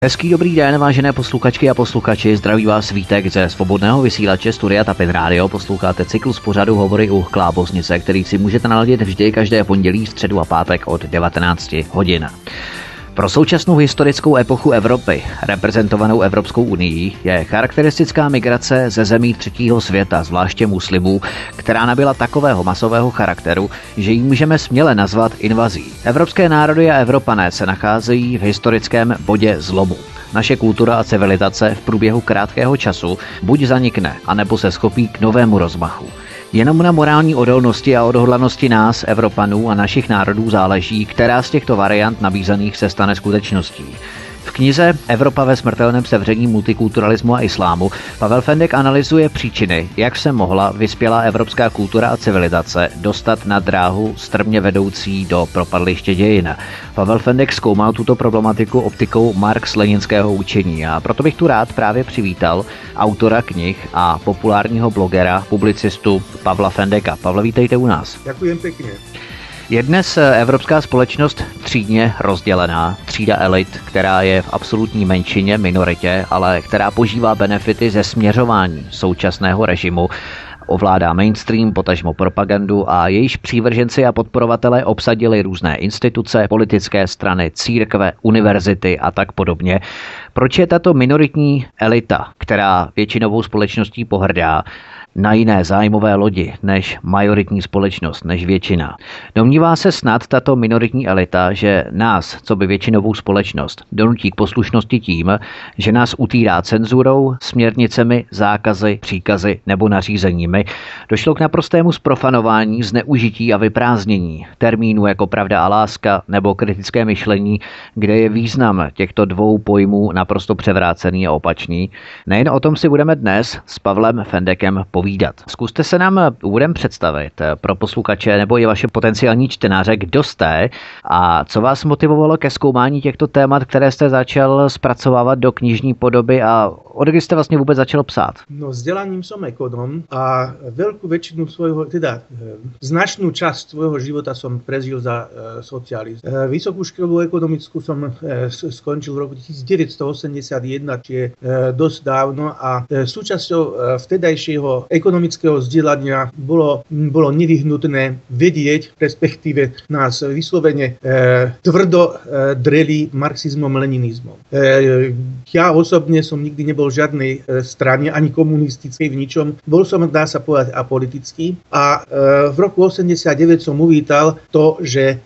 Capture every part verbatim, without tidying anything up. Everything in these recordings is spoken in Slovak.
Hezký dobrý den, vážené posluchačky a posluchači, zdraví vás Vítek ze svobodného vysílače Studia Tapin Radio. Posloucháte cyklus pořadu Hovory u Klábosnice, který si můžete naladit vždy každé pondělí, středu a pátek od devatenáct hodin. Pro současnou historickou epochu Evropy, reprezentovanou Evropskou unií, je charakteristická migrace ze zemí třetího světa, zvláště muslimů, která nabyla takového masového charakteru, že ji můžeme směle nazvat invazí. Evropské národy a Evropané se nacházejí v historickém bodě zlomu. Naše kultura a civilizace v průběhu krátkého času buď zanikne, anebo se schopí k novému rozmachu. Jenom na morální odolnosti a odhodlanosti nás, Evropanů a našich národů záleží, která z těchto variant nabízených se stane skutečností. V knize Evropa ve smrtelném sevření multikulturalismu a islámu Pavel Fendek analyzuje příčiny, jak se mohla vyspělá evropská kultura a civilizace dostat na dráhu strmě vedoucí do propadliště dějin. Pavel Fendek zkoumal tuto problematiku optikou marx-leninského učení a proto bych tu rád právě přivítal autora knih a populárního blogera, publicistu Pavla Fendeka. Pavle, vítejte u nás. Ďakujem pekne. Je dnes evropská společnost třídně rozdělená, třída elit, která je v absolutní menšině, minoritě, ale která požívá benefity ze směřování současného režimu, ovládá mainstream, potažmo propagandu a jejíž přívrženci a podporovatelé obsadili různé instituce, politické strany, církve, univerzity a tak podobně. Proč je tato minoritní elita, která většinovou společností pohrdá, na jiné zájmové lodi než majoritní společnost, než většina? Domnívá se snad tato minoritní elita, že nás, co by většinovou společnost, donutí k poslušnosti tím, že nás utírá cenzurou, směrnicemi, zákazy, příkazy nebo nařízeními? Došlo k naprostému zprofanování, zneužití a vyprázdnění termínů jako pravda a láska nebo kritické myšlení, kde je význam těchto dvou pojmů naprosto převrácený a opačný. Nejen o tom si budeme dnes s Pavlem Fendekem povídat. Zkuste se nám úvodem představit pro posluchače nebo i vaše potenciální čtenáře, kdo jste a co vás motivovalo ke zkoumání těchto témat, které jste začal zpracovávat do knižní podoby a od kdy jste vlastně vůbec začal psát? No, vzdelaním som ekonom a veľkú väčšinu svojho, teda značnú časť svojho života som prežil za e, socializmu. E, Vysokú školu ekonomickú som e, skončil v roku devätnásťstoosemdesiatjeden, čiže e, dosť dávno a e, súčasťou e, vtedajšieho ekonomického vzdelania bolo, bolo nevyhnutné vedieť, respektíve nás vyslovene e, tvrdo e, dreli marxizmom, leninizmom. E, ja osobne som nikdy nebol v žiadnej e, strane, ani komunistickej v ničom. Bol som, dá sa povedať, apolitický a e, v roku osemdesiatdeväť som uvítal to, že e,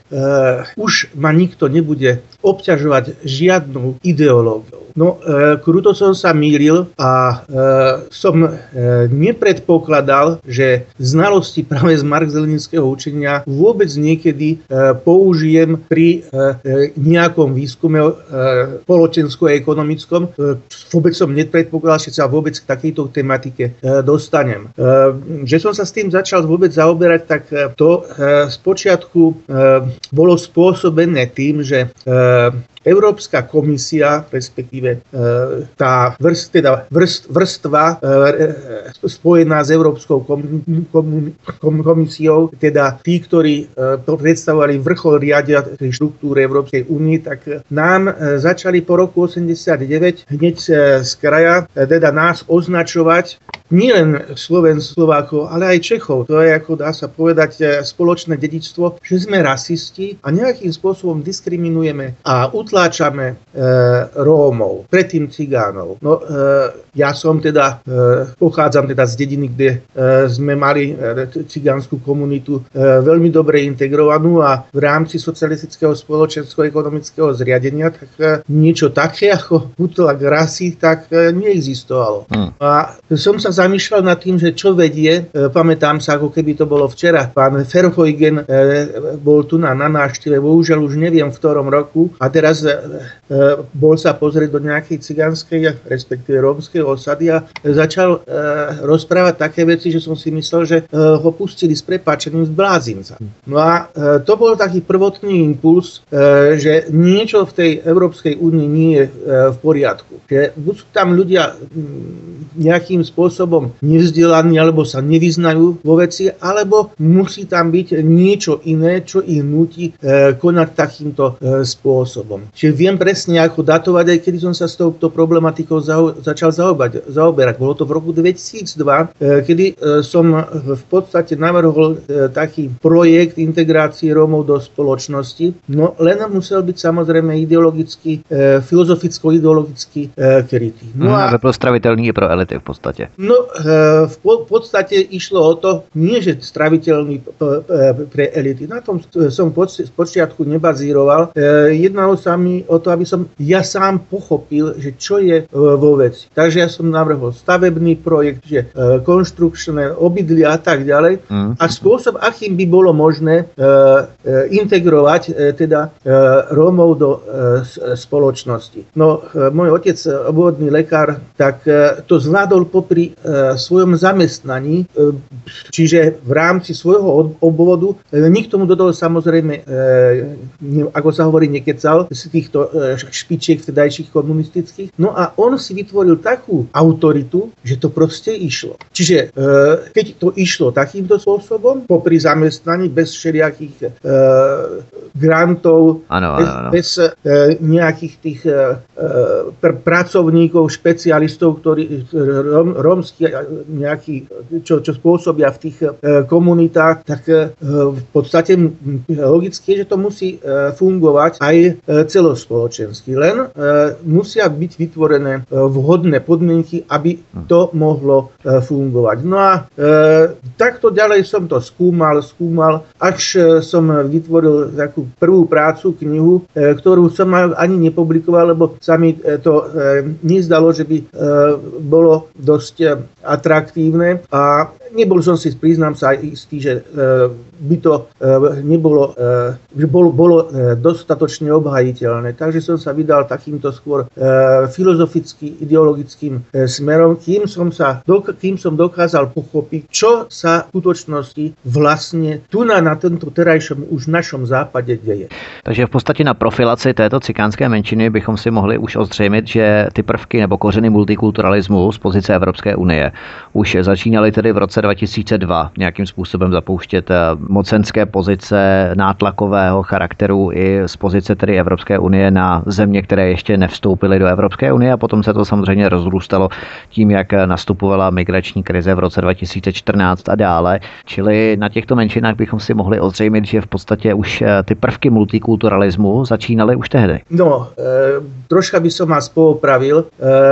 už ma nikto nebude obťažovať žiadnou ideológiou. No, e, kruto som sa mýlil a e, som e, nepredpokladal, že znalosti práve z marx-leninského učenia vôbec niekedy e, použijem pri e, nejakom výskume e, spoločensko-ekonomickom. E, vôbec som nepredpokladal, že sa vôbec k takejto tematike e, dostanem. E, že som sa s tým začal vôbec zaoberať, tak e, to e, spočiatku e, bolo spôsobené tým, že e, Európska komisia, respektíve e, tá vrst, teda vrst, vrstva e, spojená s Európskou kom, kom, kom, komisiou, teda tí, ktorí e, predstavovali vrchol riadiacej štruktúry Európskej únie, tak nám e, začali po roku osemdesiatdeväť hneď e, z kraja e, teda nás označovať nielen Slovensk, Slovákov, ale aj Čechov. To je, ako dá sa povedať, spoločné dedičstvo, že sme rasisti a nejakým spôsobom diskriminujeme a utláčame e, Rómov, predtým Cigánov. No, e, ja som teda, e, pochádzam teda z dediny, kde e, sme mali e, cigánsku komunitu e, veľmi dobre integrovanú a v rámci socialistického spoločensko-ekonomického zriadenia tak e, niečo také ako útlak rasy tak e, neexistovalo. Hmm. A som sa zamýšľal nad tým, že čo vedie, e, pamätám sa, ako keby to bolo včera, pán Verheugen e, bol tu na, na návšteve, bohužiaľ už neviem v ktorom roku, a teraz e, e, bol sa pozrieť do nejakej cigánskej, respektíve rómskej osady a začal e, rozprávať také veci, že som si myslel, že e, ho pustili s prepáčením z blázinca. No a e, to bol taký prvotný impuls, e, že niečo v tej Európskej únii nie je e, v poriadku. Že buď sú tam ľudia m, nejakým spôsobom spôsobom nevzdelaní alebo sa nevyznajú vo veci, alebo musí tam byť niečo iné, čo ich núti e, konať takýmto e, spôsobom. Čiže viem presne, ako datovať, aj kedy som sa s touto problematikou za, začal zaobať, zaoberať. Bolo to v roku dvetisícdva, e, kedy e, som v podstate navrhol e, taký projekt integrácie Rómov do spoločnosti, no len musel byť samozrejme ideologicky, e, filozoficko-ideologicky e, krytý. No a byl stravitelný i pro elity v podstatě. No e, v po, podstate išlo o to, nie že straviteľný e, pre elity. Na tom som z počiatku nebazíroval. E, jednalo sa mi o to, aby som ja sám pochopil, že čo je e, vo veci. Takže ja som navrhol stavebný projekt, že e, konštrukčné obydlia a tak ďalej. Mm. A spôsob, akým by bolo možné e, e, integrovať e, teda e, Rómov do e, spoločnosti. No, e, môj otec, obvodný lekár, tak e, to zvládol popri e, svojom zamestnaní, e, čiže v rámci svojho obvodu. E, nikto mu do toho samozrejme, e, ne, ako sa hovorí, nekecal z týchto e, špičiek vtedajších komunistických. No a on si vytvoril takú autoritu, že to proste išlo. Čiže e, keď to išlo takýmto spôsobom, popri zamestnaní, bez všelijakých e, grantov, ano, bez, ano, ano. bez e, nejakých tých e, pr- pracovníkov, špecialistov, ktorí rom, rómsky nejaký, čo, čo spôsobia v tých e, komunitách, tak e, v podstate logicky je, že to musí e, fungovať aj e, celospoločensky. Len e, musia byť vytvorené e, vhodné podmienky, aby to mohlo e, fungovať. No a e, takto ďalej som to skúmal, skúmal, až e, som vytvoril takú prvú prácu, knihu, e, ktorú som ani nepublikoval, lebo sa mi e, to e, nezdalo, že by e, bolo dosť e, atraktívne a nebol som si, priznám sa, istý, že e, by to e, nebolo, e, že bolo, bolo e, dostatočne obhajiteľné. Takže som sa vydal takýmto skôr e, filozoficky, ideologickým e, smerom, kým som, sa, dok- kým som dokázal pochopiť, čo sa v skutočnosti vlastne tu na, na tomto terajšom už našom západe deje. Takže v podstatě na profilaci této cikánské menšiny bychom si mohli už ozřejmit, že ty prvky nebo kořeny multikulturalismu z pozice Evropské unie už začínaly tedy v roce dva tisíce dva nějakým způsobem zapouštět mocenské pozice nátlakového charakteru i z pozice tedy Evropské unie na země, které ještě nevstoupily do Evropské unie, a potom se to samozřejmě rozrůstalo tím, jak nastupovala migrační krize v roce dva tisíce čtrnáct a dále. Čili na těchto menšinách bychom si mohli ozřejmit, že v podstatě už ty prvky multikulturalismu začínaly už tehdy. No, e, troška by som vás poopravil.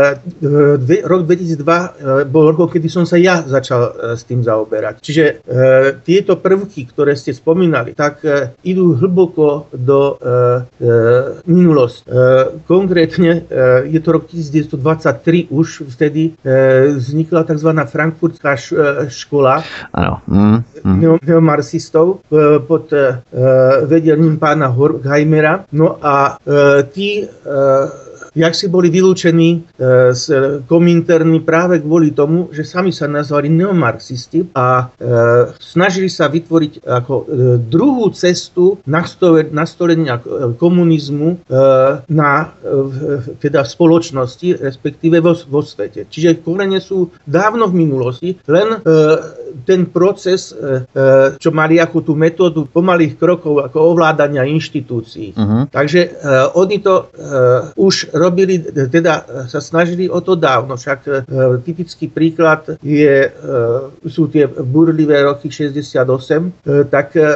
E, dve, rok dvetisícdva e, bol rok, kedy som sa ja začal e, s tým zaoberať. Čiže e, tieto prvky, ktoré ste spomínali, tak e, idú hlboko do e, e, minulosti. E, konkrétne e, je to rok devätnásťstodvadsaťtri, už vtedy e, vznikla tzv. Frankfurtská š, e, škola ano. Mm, mm. Neo, neomarxistov e, pod e, vedením pána Horkheimera. No a e, tí e, jak si boli vylúčení e, z Kominterny práve kvôli tomu, že sami sa nazvali neomarxisti a e, snažili sa vytvoriť ako e, druhú cestu nastolenia komunizmu e, na e, teda v spoločnosti, respektíve vo, vo svete. Čiže korene sú dávno v minulosti, len e, ten proces, e, čo mali ako tú metódu pomalých krokov ako ovládania inštitúcií. Uh-huh. Takže e, oni to e, už robili, teda sa snažili o to dávno. Však e, typický príklad je, e, sú tie burlivé roky šesťdesiatosem. E, tak e,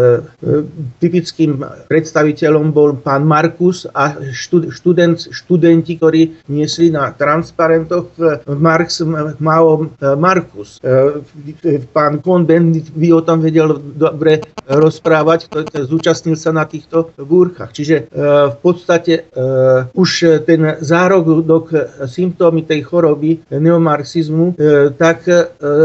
e, typickým predstaviteľom bol pán Markus a štud, študent, študenti, ktorí niesli na transparentoch Marx, Mao, Markus. E, pán Cohn-Bendit by o tom vedel dobre rozprávať, ktorý zúčastnil sa na týchto búrkach. Čiže e, v podstate e, už ten zárodok, symptómy tej choroby neomarxizmu, e, tak e,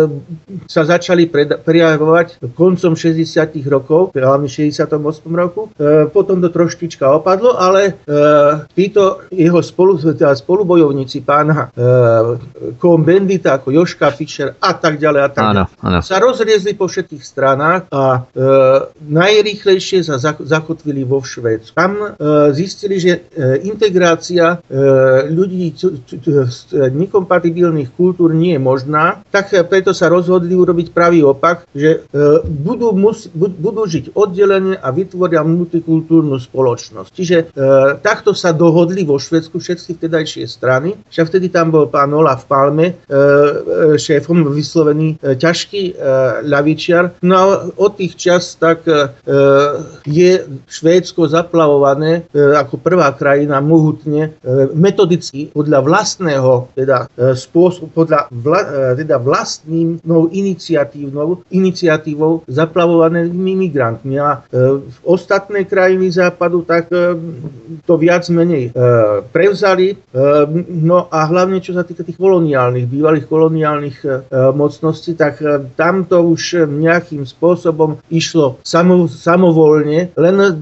sa začali pred, prejavovať koncom šesťdesiatych rokov, hlavne v šesťdesiatom ôsmom roku. E, potom to troštička opadlo, ale e, títo jeho spolu, teda spolubojovníci pána e, Cohn-Bendita, ako Joška Fischer a tak ďalej a tak ďalej. ano. sa rozriezli po všetkých stranách a e, najrýchlejšie sa zakotvili vo Švédsku. Tam e, zistili, že e, integrácia e, ľudí c- c- c- z nekompatibilných kultúr nie je možná, tak preto sa rozhodli urobiť pravý opak, že e, budú, mus, budú žiť oddelenie a vytvoria multikultúrnu spoločnosť. Čiže e, takto sa dohodli vo Švédsku všetky vtedajšie strany. Však vtedy tam bol pán Olaf Palme, e, šéfom vyslovený e, ťažký e, ľavičiar. No a od tých čas tak e, je Švédsko zaplavované e, ako prvá krajina mohutne, e, metodicky podľa vlastného teda, e, spôsob, podľa vla, e, teda vlastnou iniciatívnou, iniciatívou zaplavovanými migrantmi. A e, ostatné krajiny západu tak e, to viac menej e, prevzali. E, no a hlavne čo sa týka tých koloniálnych, bývalých koloniálnych e, mocností, tak e, tam to už nejakým spôsobom išlo samo, samovolne, len e,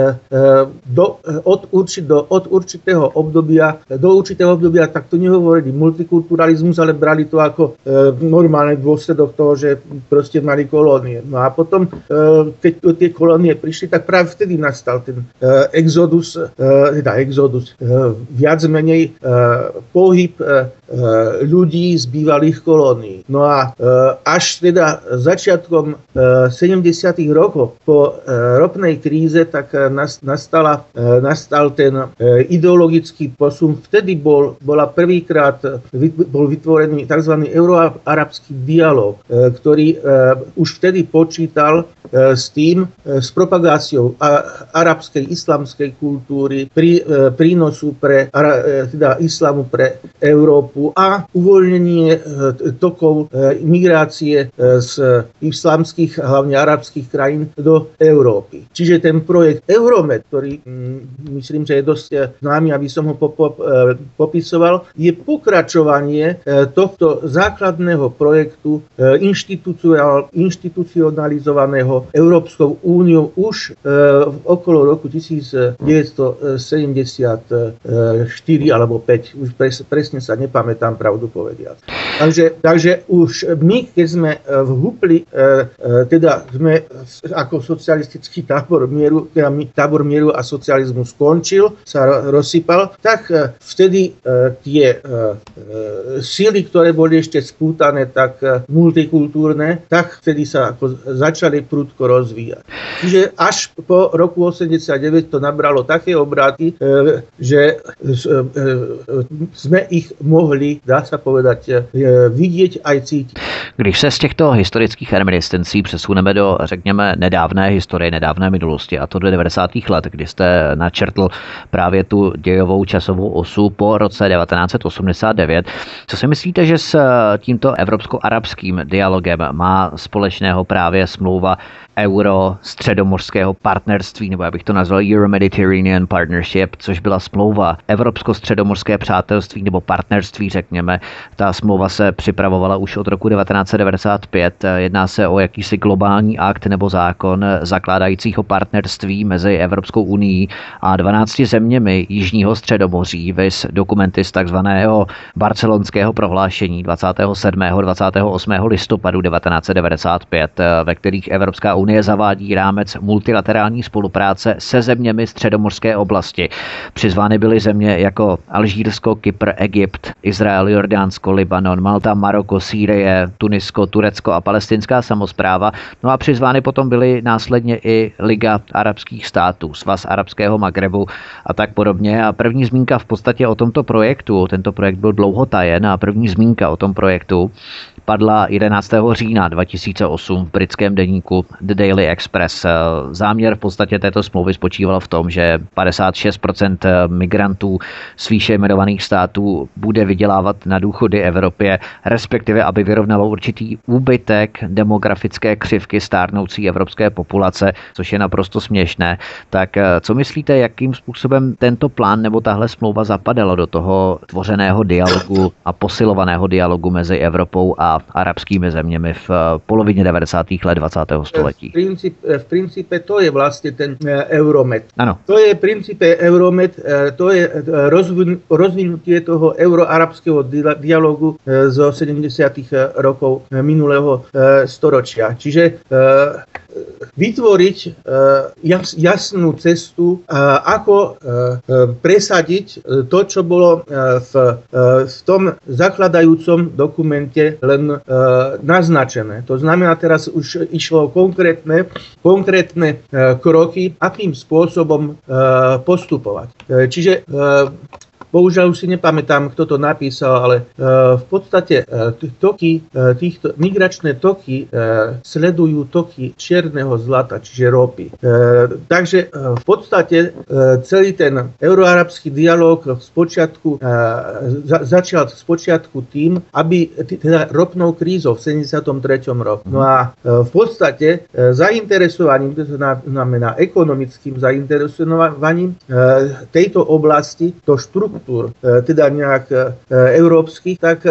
do, od, urči, do, od určitého obdobia, do určitého obdobia tak to nehovorili multikulturalizmus, ale brali to ako e, normálny dôsledok toho, že proste mali kolónie. No a potom, e, keď tie kolónie prišli, tak práve vtedy nastal ten e, exodus, e, teda exodus, e, viac menej e, pohyb e, ľudí z bývalých kolónií. No a e, až teda začiatkom e, sedemdesiatych rokov po e, ropnej kríze tak e, nastala, e, nastal ten e, ideologický posun. Vtedy bol, bola prvýkrát vyt, bol vytvorený tzv. Euroarabský dialog, e, ktorý e, už vtedy počítal e, s tým, e, s propagáciou a, arabskej, islamskej kultúry, prí, e, prínosu pre ara, e, teda islamu pre Európu a uvoľnenie e, tokov e, migrácie e, z islamských, hlavne arabských krajín do Európy. Čiže ten projekt Euromed, ktorý mm, myslím, že je dosť známy, aby som ho po, po, e, popisoval, je pokračovanie e, tohto základného projektu e, inštitucionalizovaného Európskou úniou už e, okolo roku devätnásťsedemdesiatštyri alebo päť, už pres, presne sa nepamätám, pravdu povediac. Takže, takže už my, keď sme vhupli, e, e, teda sme ako socialistický tábor mieru, teda tábor mieru a socializmu skončil, sa rozsypal, tak e, vtedy e, tie e, e, síly, ktoré boli ešte spútané, tak e, multikultúrne, tak vtedy sa ako začali prudko rozvíjať. Čiže až po roku osemdesiatdeväť to nabralo také obráty, e, že e, e, sme ich mohli, dá sa povedať, e, vidieť aj cítiť. Když se z těchto historických reminiscencí přesuneme do, řekněme, nedávné historie, nedávné minulosti, a to do devadesátých let, kdy jste načrtl právě tu dějovou časovou osu po roce devatenáct set osmdesát devět, co si myslíte, že s tímto evropsko-arabským dialogem má společného právě smlouva euro-středomořského partnerství, nebo já bych to nazval Euro-Mediterranean Partnership, což byla smlouva Evropsko-středomořské přátelství nebo partnerství, řekněme. Ta smlouva se připravovala už od roku devatenáct set devadesát pět. Jedná se o jakýsi globální akt nebo zákon zakládajícího partnerství mezi Evropskou unií a dvanácti zeměmi Jižního středomoří, viz dokumenty z takzvaného barcelonského prohlášení dvacátého sedmého dvacátého osmého listopadu devatenáct set devadesát pět, ve kterých Evropská unie Unie zavádí rámec multilaterální spolupráce se zeměmi středomořské oblasti. Přizvány byly země jako Alžírsko, Kypr, Egypt, Izrael, Jordánsko, Libanon, Malta, Maroko, Sýrie, Tunisko, Turecko a palestinská samospráva. No a přizvány potom byly následně i Liga arabských států, Svaz arabského Magrebu a tak podobně. A první zmínka v podstatě o tomto projektu, tento projekt byl dlouho tajen a první zmínka o tom projektu padla jedenáctého října dva tisíce osm v britském deníku The Daily Express. Záměr v podstatě této smlouvy spočíval v tom, že padesát šest procent migrantů z výše jmenovaných států bude vydělávat na důchody Evropě, respektive aby vyrovnalo určitý úbytek demografické křivky stárnoucí evropské populace, což je naprosto směšné. Tak co myslíte, jakým způsobem tento plán nebo tahle smlouva zapadala do toho tvořeného dialogu a posilovaného dialogu mezi Evropou a a arabskými zeměmi v polovině devadesátých let dvacátého století. V, princip, v princípe to je vlastne ten Euromed. Ano. To je v princípe Euromed, to je rozvin, rozvinutie toho euroarabského dialogu zo sedemdesiatych rokov minulého storočia. Čiže vytvoriť jasnú cestu, ako presadiť to, čo bolo v, v tom zakladajúcom dokumente len naznačené. To znamená, teraz už išlo konkrétne, konkrétne kroky, akým spôsobom postupovať. Čiže bohužiaľ už si nepamätám, kto to napísal, ale v podstate toky, týchto migračné toky sledujú toky čierneho zlata, čiže ropy. Takže v podstate celý ten euroarabský dialog v spočiatku začal v spočiatku tým, aby teda ropnou krízou v sedemdesiatom treťom roku. No a v podstate zainteresovaním, to znamená ekonomickým zainteresovaním tejto oblasti, to štruktúru teda nejak európskych, tak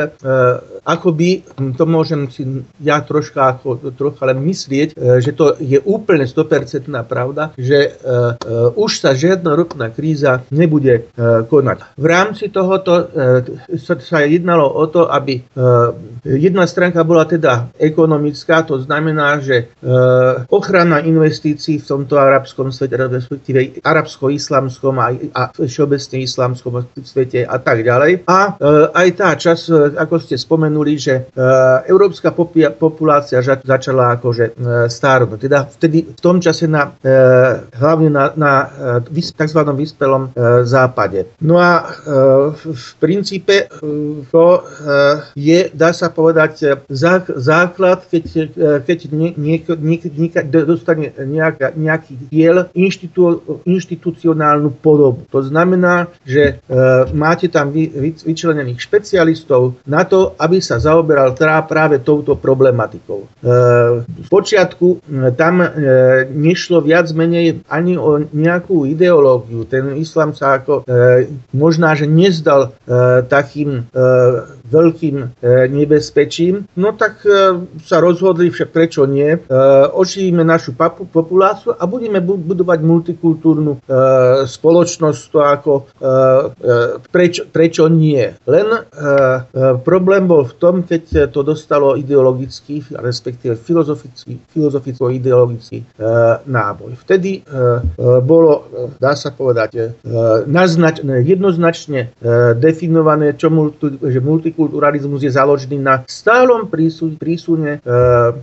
akoby, to môžem si ja troška, ako, trocha len myslieť, že to je úplne sto percent pravda, že už sa žiadna ropná kríza nebude konať. V rámci tohoto sa jednalo o to, aby jedna stránka bola teda ekonomická, to znamená, že ochrana investícií v tomto arabskom svete, respektíve arabsko-islamskom a všeobecne islamskom svete a tak ďalej. A e, aj tá čas, e, ako ste spomenuli, že e, európska popi- populácia ža- začala akože e, stárnuť. Teda vtedy v tom čase na, e, hlavne na, na e, tzv. Vyspelom e, západe. No a e, v princípe e, to e, je, dá sa povedať, zá, základ, keď, e, keď nie, nie, nie, nie, dostane nejaká, nejaký diel inštitú, inštitucionálnu podobu. To znamená, že e, máte tam vy, vy, vyčlenených špecialistov na to, aby sa zaoberal teda práve touto problematikou. E, v počiatku tam e, nešlo viac menej ani o nejakú ideológiu. Ten islám sa ako e, možná, že nezdal e, takým e, veľkým e, nebezpečím, no tak e, sa rozhodli, však prečo nie, e, oživíme našu papu, populáciu a budeme bu- budovať multikultúrnu e, spoločnosť, to ako e, Prečo, prečo nie? Len e, e, problém bol v tom, keď to dostalo ideologický, respektíve filozofický, filozoficko-ideologický e, náboj. Vtedy e, e, bolo, dá sa povedať, e, naznač, jednoznačne e, definované, čo multi, že multikulturalizmus je založený na stálom prísune, prísune e, e,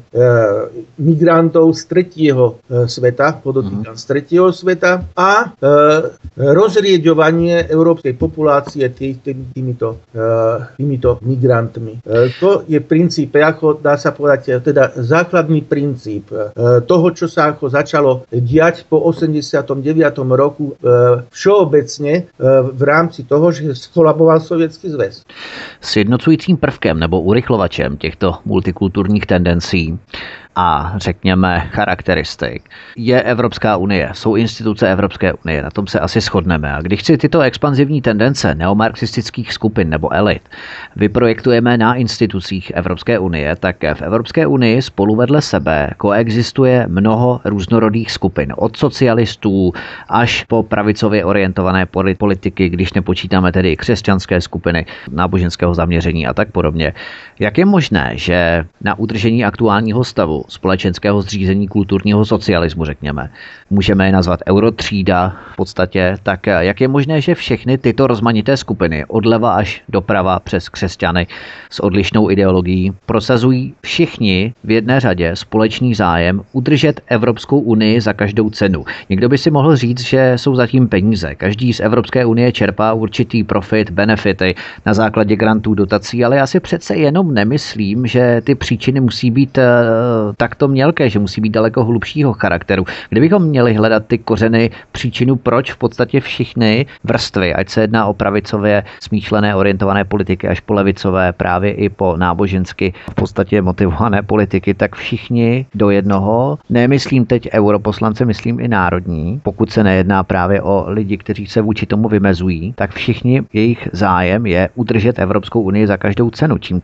migrantov z tretieho e, sveta, podotýkam z tretieho sveta a e, rozrieďovanie európskej populácie tý, tý, týmito, uh, týmito migrantmi. Uh, to je princíp, ako dá sa povedať, teda základný princíp uh, toho, čo sa ako začalo diať po osemdesiatom deviatom roku uh, všeobecne uh, v rámci toho, že skolaboval Sovětský zväz. Sjednocujícím prvkem nebo urychlovačem těchto multikulturních tendencí a řekněme charakteristik je Evropská unie, jsou instituce Evropské unie, na tom se asi shodneme. A když si tyto expanzivní tendence neomarxistických skupin nebo elit vyprojektujeme na institucích Evropské unie, tak v Evropské unii spolu vedle sebe koexistuje mnoho různorodých skupin, od socialistů až po pravicově orientované politiky, když nepočítáme tedy křesťanské skupiny náboženského zaměření a tak podobně. Jak je možné, že na udržení aktuálního stavu společenského zřízení kulturního socialismu, řekněme, můžeme je nazvat eurotřída v podstatě, tak jak je možné, že všechny tyto rozmanité skupiny, odleva až doprava přes křesťany s odlišnou ideologií, prosazují všichni v jedné řadě společný zájem udržet Evropskou unii za každou cenu. Někdo by si mohl říct, že jsou zatím peníze. Každý z Evropské unie čerpá určitý profit, benefity na základě grantů, dotací, ale já si přece jenom nemyslím, že ty příčiny musí být uh, takto mělké, že musí být daleko hlubšího charakteru. Kdybychom měli hledat ty kořeny, příčinu, proč v podstatě všichni vrstvy, ať se jedná o pravicově smýšlené orientované politiky až po levicové, právě i po nábožensky v podstatě motivované politiky, tak všichni do jednoho, nemyslím teď europoslance, myslím i národní, pokud se nejedná právě o lidi, kteří se vůči tomu vymezují, tak všichni jejich zájem je udržet Evropskou unii za každou cenu. Čím to je?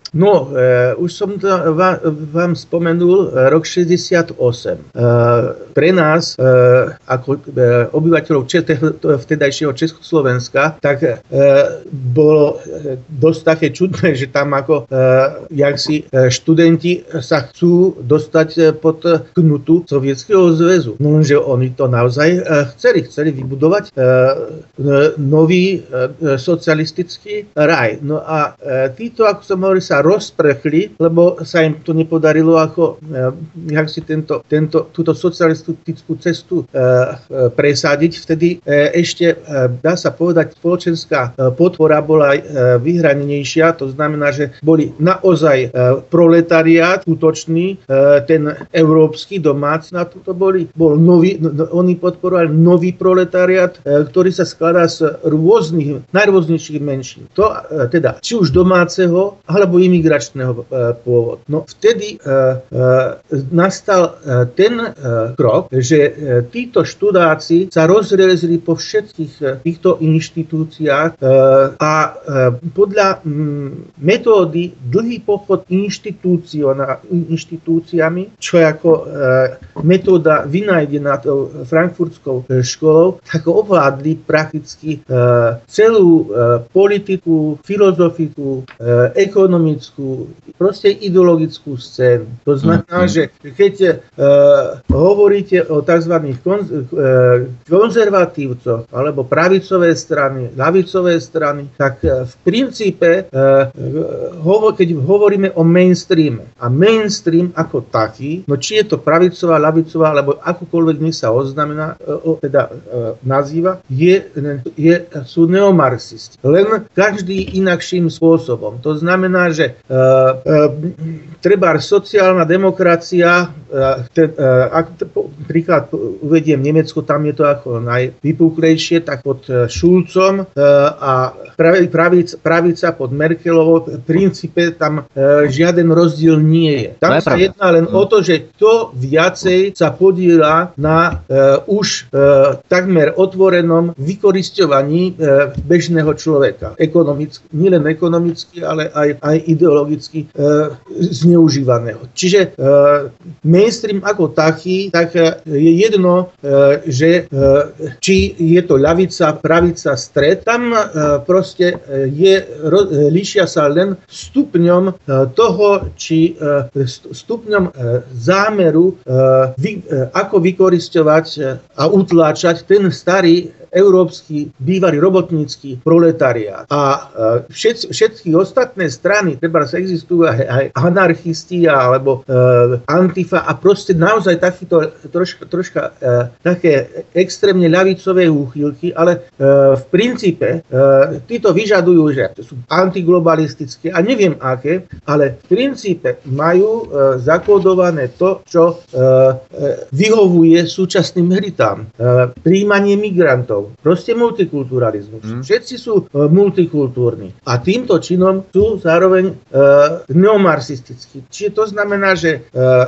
No, e, už som to vám, vám spomenul, rok šesťdesiatosem. E, pre nás, e, ako e, obyvateľov Čete, vtedajšieho Československa, tak e, bolo dosť také čudné, že tam ako e, jak si e, študenti sa chcú dostať pod knutu Sovietskeho zväzu. No lenže oni to naozaj e, chceli, chceli vybudovať e, e, nový e, socialistický raj. No a e, títo, ako som hovoril, sa rozprchli, lebo sa im to nepodarilo ako e, jak si tento, tento, túto socialistickú cestu e, e, presadiť. Vtedy e, ešte, e, dá sa povedať, spoločenská e, podpora bola e, vyhranenejšia. To znamená, že boli naozaj e, proletariát útočný, e, ten európsky domáci, na to boli, bol nový, no, oni podporovali nový proletariát, e, ktorý sa skladá z rôznych, najrôznejších menšín. To e, teda, či už domáceho, alebo imigračného e, pôvodu. No vtedy e, e, nastal e, ten e, krok, že e, títo študáci sa rozrezli po všetkých e, týchto inštitúciách e, a e, podľa m, metódy dlhý pochod inštitúciami, čo je ako e, metóda vynajdená tou frankfurtskou e, školou, tak ovládli prakticky e, celú e, politiku, filozofiku, e, ekonomickú, proste ideologickú scénu. To znamená, mm-hmm. že keď e, hovoríte o tzv. Konz, e, konzervatívcoch alebo pravicové strany, ľavicové strany, tak e, v princípe, e, hovo, keď hovoríme o mainstreame a mainstream ako taký, no či je to pravicová, ľavicová, alebo akokoľvek nech sa oznamená, e, teda e, nazýva, je, je, sú neomarxisti. Len každý inakším spôsobom. To znamená, že e, e, treba sociálna demokracia, e, te, e, ak te, príklad uvediem Nemecko, tam je to ako najvypuklejšie, tak pod Schulzom e, a pravica, pravica pod Merkelovou, v princípe tam e, žiaden rozdiel nie je. Tam sa pravda. Jedná len mm. o to, že kto viacej sa podieľa na e, už e, takmer otvorenom vykorisťovaní e, bežného človeka. Ekonomicky, nielen ekonomicky, ale aj, aj ideologicky e, zneužívaného. Čiže e, mainstream ako taký, tak je jedno, e, že e, či je to ľavica, pravica, stred, tam e, proste je, ro, líšia sa len stupňom e, toho, či e, stupňom e, zámeru, e, vy, e, ako vykorisťovať a utláčať ten starý európsky, bývalý robotnícky proletariát. A všet, všetky ostatné strany, treba sa existujú aj, aj anarchisti alebo e, Antifa a proste naozaj takýto troška, troška e, také extrémne ľavicové úchylky, ale e, v princípe e, títo vyžadujú, že sú antiglobalistické a neviem aké, ale v princípe majú e, zakódované to, čo e, e, vyhovuje súčasným elitám. E, prijímanie migrantov. Proste multikulturalizmus. Mm. Všetci sú e, multikultúrni. A týmto činom sú zároveň e, neomarxistickí. Čiže to znamená, že e,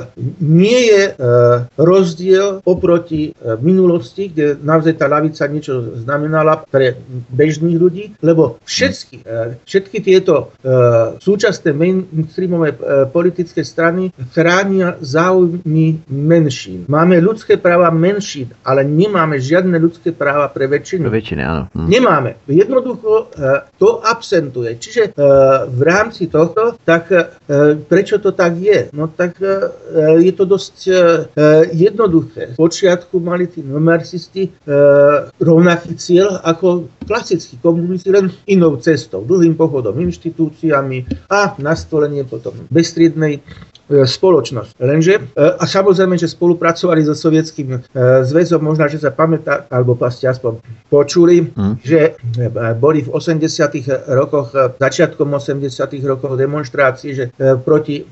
nie je e, rozdiel oproti e, minulosti, kde naozaj tá ľavica niečo znamenala pre bežných ľudí, lebo všetky, e, všetky tieto e, súčasné mainstreamové e, politické strany chránia záujmy menšín. Máme ľudské práva menšín, ale nemáme žiadne ľudské práva pre väčšinu. Väčšine, áno. Hm. Nemáme. Jednoducho e, to absentuje. Čiže e, v rámci tohto, tak e, prečo to tak je? No tak e, je to dosť e, jednoduché. V počiatku mali tí marxisti e, rovnaký cieľ ako klasickí komunisti, len inou cestou, dlhým pochodom, inštitúciami a nastolenie potom bezstriednej spoločnosť. Lenže, a samozrejme, že spolupracovali so Sovietským zväzom, možno, že sa pamätá, alebo ste aspoň počuli, mm. že boli v osemdesiatych rokoch, začiatkom osemdesiatych rokov demonštrácie, že proti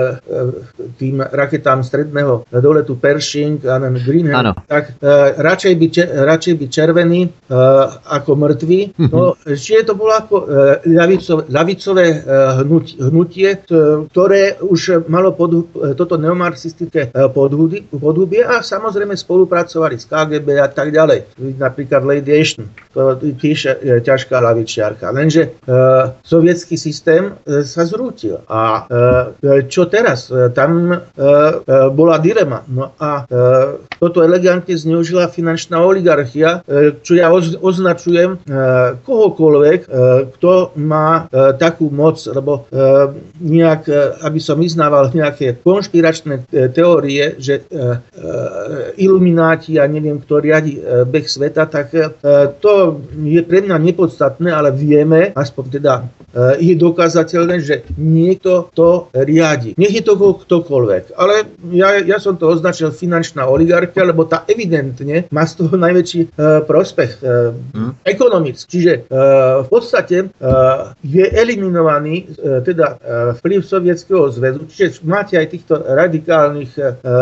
tým raketám stredného doletu Pershing a Greenham, tak radšej by, radšej by červení ako mŕtvi. Mm-hmm. No, čiže to bolo ako ľavicové, ľavicové hnutie, ktoré už malo malo pod, toto neomarxistické podhubie a samozrejme spolupracovali s ká gé bé a tak ďalej. Napríklad Lady Ashton, to tiež ťažká ľavičiarka. Lenže uh, sovietský systém uh, sa zrútil. A uh, čo teraz? Uh, tam uh, uh, bola dilema. No a uh, toto elegantne zneužila finančná oligarchia, uh, čo ja oz, označujem uh, kohokoľvek, uh, kto má uh, takú moc, lebo uh, nejak, uh, aby som vyznával nejaké konšpiračné uh, teórie, že uh, uh, ilumináti a neviem, kto riadi uh, beh sveta, tak uh, to je pre mňa nepodstatné, ale vieme, aspoň teda uh, je dokázateľné, že niekto to riadi. Nech je to ktokoľvek. Ale ja, ja som to označil finančná oligarchia, lebo tá evidentne má z toho najväčší uh, prospech uh, hmm. ekonomický. Čiže uh, v podstate uh, je eliminovaný uh, teda uh, vplyv Sovietskeho zväzu. Čiže máte aj týchto radikálnych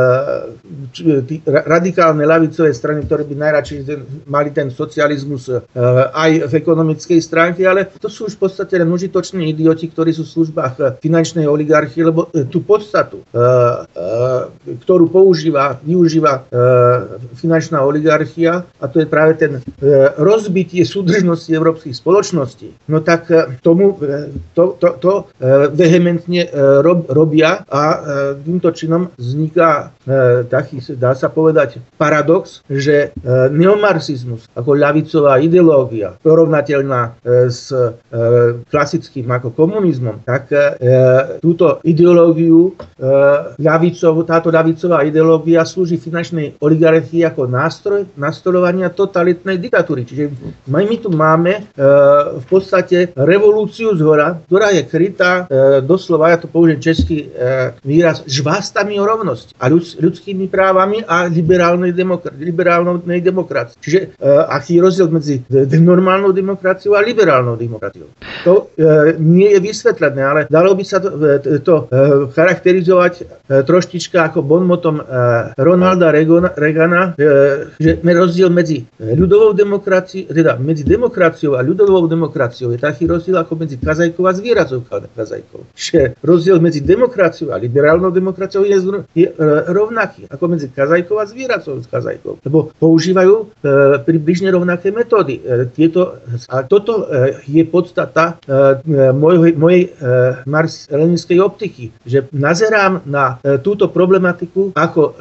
uh, tí, radikálne ľavicové strany, ktoré by najradšej ten, mali ten socializmus uh, aj v ekonomickej stránke, ale to sú už v podstate len užitoční idioti, ktorí sú v službách finančnej oligarchie, lebo uh, tú podstatu, uh, uh, ktorú používa, využíva uh, finančná oligarchia, a to je práve ten uh, rozbitie súdržnosti európskych spoločností, no tak uh, tomu uh, to, to, to uh, vehementne uh, rob, robia a uh, týmto činom vzniká uh, taký, dá sa povedať, paradox, že uh, neomarxizmus ako ľavicová ideológia, porovnateľná uh, s uh, klasickým ako komunizmom, tak uh, túto ideológiu uh, ľavicovú, táto ľavicová ideológia slúži finančnej oligarchii ako nástroj nastoľovania totalitnej diktatúry. Čiže my, my tu máme uh, v podstate revolúciu zhora, ktorá je krytá uh, doslova, ja to použijem český uh, výraz, žvástami o rovnosti a ľud, ľudskými právami a liberálnej, demokra- liberálnej demokracii. Čiže uh, aký je rozdiel medzi normálnou demokraciou a liberálnou demokraciou? To uh, nie je vysvetlené, ale dalo by sa to, to uh, charakterizovať uh, troštička ako bonmotom uh, Ronalda Reagana, uh, že rozdiel medzi ľudovou demokraciou, teda medzi demokraciou a ľudovou demokraciou je taký rozdiel ako medzi kazajkou a zvieracou kazajkou. Že rozdiel medzi demokraciou a liberálnou demokraciou je, je uh, rovnaký ako medzi kazajkou a zvieracou kazajkou, lebo používajú uh, približne rovnaké metódy. Uh, tieto, a toto uh, je podstata uh, mojej, mojej uh, marxist-leninskej optiky, že nazerám na uh, túto problematiku ako uh, uh,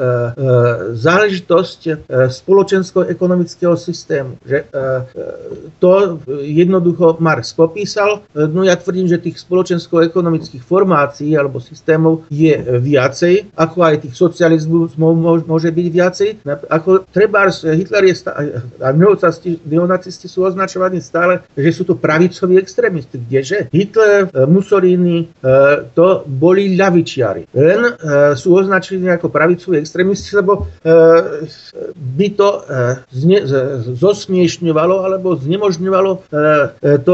záležitosť uh, spoločensko-ekonomického systému. Že uh, to jednoducho Marx popísal. Uh, no ja tvrdím, že tých spoločensko-ekonomických formácií alebo systémov je viacej, ako aj tých socializmov môže byť viacej. Ako trebárs Hitler je stále, a neonacisti sú označovaní stále, že sú to pravicoví extrémisti. Kdeže? Hitler, Mussolini, to boli ľavičiari. Len sú označení ako pravicoví extrémisti, lebo by to zne, zosmiešňovalo alebo znemožňovalo to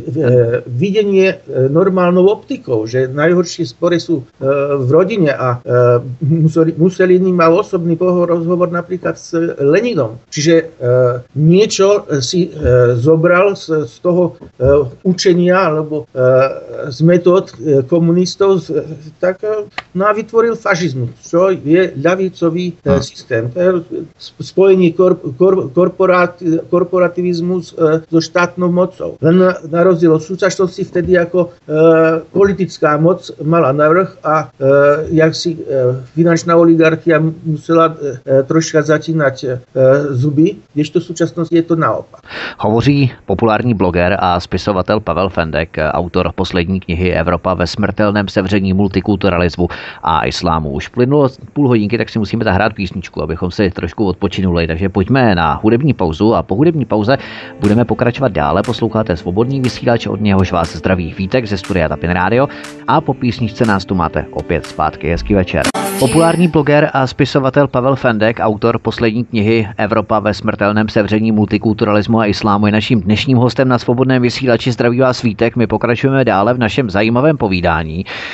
videnie normálnou optikou, že najhoršie spory sú v rodine a Mussolini mal osobný rozhovor napríklad s Leninom. Čiže niečo si zobral z, z toho učenia alebo z metód komunistov, tak no a vytvoril fašizmus, čo je ľavicový systém. To je spojenie kor, kor, korporát, korporativizmus so štátnou mocou. Len na, na rozdiel od súčasnosti vtedy ako politická moc mala navrch a jak si finančná oligarchia musela troška zatínať zuby, kdežto v súčasnosti je to naopak. Hovoří populární bloger a spisovatel Pavel Fendek, autor poslední knihy Evropa ve smrtelném sevření multikulturalismu a islámu. Už plynulo půl hodinky, tak si musíme zahrát písničku, abychom si trošku odpočinuli. Takže pojďme na hudební pauzu a po hudební pauze budeme pokračovat dále. Posloucháte Svobodný vysílač, od něhož vás zdraví Vítek ze studia Tapin Radio a po písničce nás tu máte opět zpátky. Hezký večer. Populární bloger a spisovatel Pavel Fendek, autor poslední knihy Evropa ve smrtelném sevření multikulturalismu a islámu, je naším dnešním hostem na Svobodném vysílači. Zdraví vás Vítek. My pokračujeme dále v našem zajímavém povídání.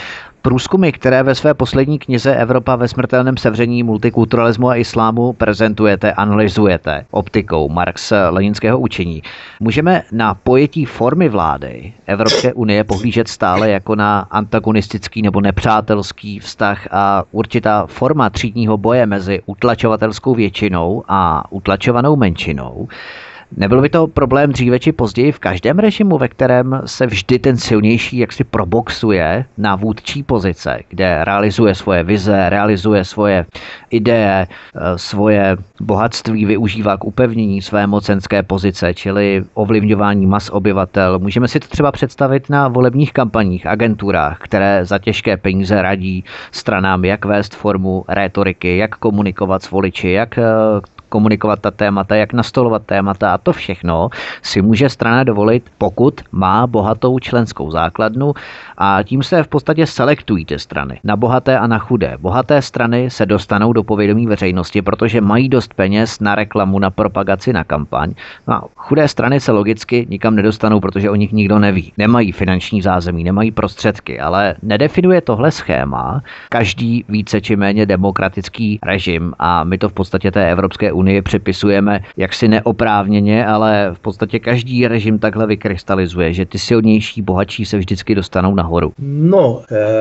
Průzkumy, které ve své poslední knize Evropa ve smrtelném sevření multikulturalismu a islámu prezentujete, analyzujete optikou Marx-leninského učení, můžeme na pojetí formy vlády Evropské unie pohlížet stále jako na antagonistický nebo nepřátelský vztah a určitá forma třídního boje mezi utlačovatelskou většinou a utlačovanou menšinou. Nebyl by to problém dříve či později v každém režimu, ve kterém se vždy ten silnější jaksi proboxuje na vůdčí pozice, kde realizuje svoje vize, realizuje svoje ideje, svoje bohatství, využívá k upevnění své mocenské pozice, čili ovlivňování mas obyvatel. Můžeme si to třeba představit na volebních kampaních, agenturách, které za těžké peníze radí stranám, jak vést formu rétoriky, jak komunikovat s voliči, jak komunikovat ta témata, jak nastolovat témata a to všechno si může strana dovolit, pokud má bohatou členskou základnu a tím se v podstatě selektují ty strany na bohaté a na chudé. Bohaté strany se dostanou do povědomí veřejnosti, protože mají dost peněz na reklamu, na propagaci, na kampaň. No a chudé strany se logicky nikam nedostanou, protože o nich nikdo neví. Nemají finanční zázemí, nemají prostředky, ale nedefinuje tohle schéma každý více či méně demokratický režim a my to v podstatě té Evropské unii připisujeme jaksi neoprávněně, ale v podstatě každý režim takhle vykrystalizuje, že ty silnější, bohatší se vždycky dostanou nahoru. No,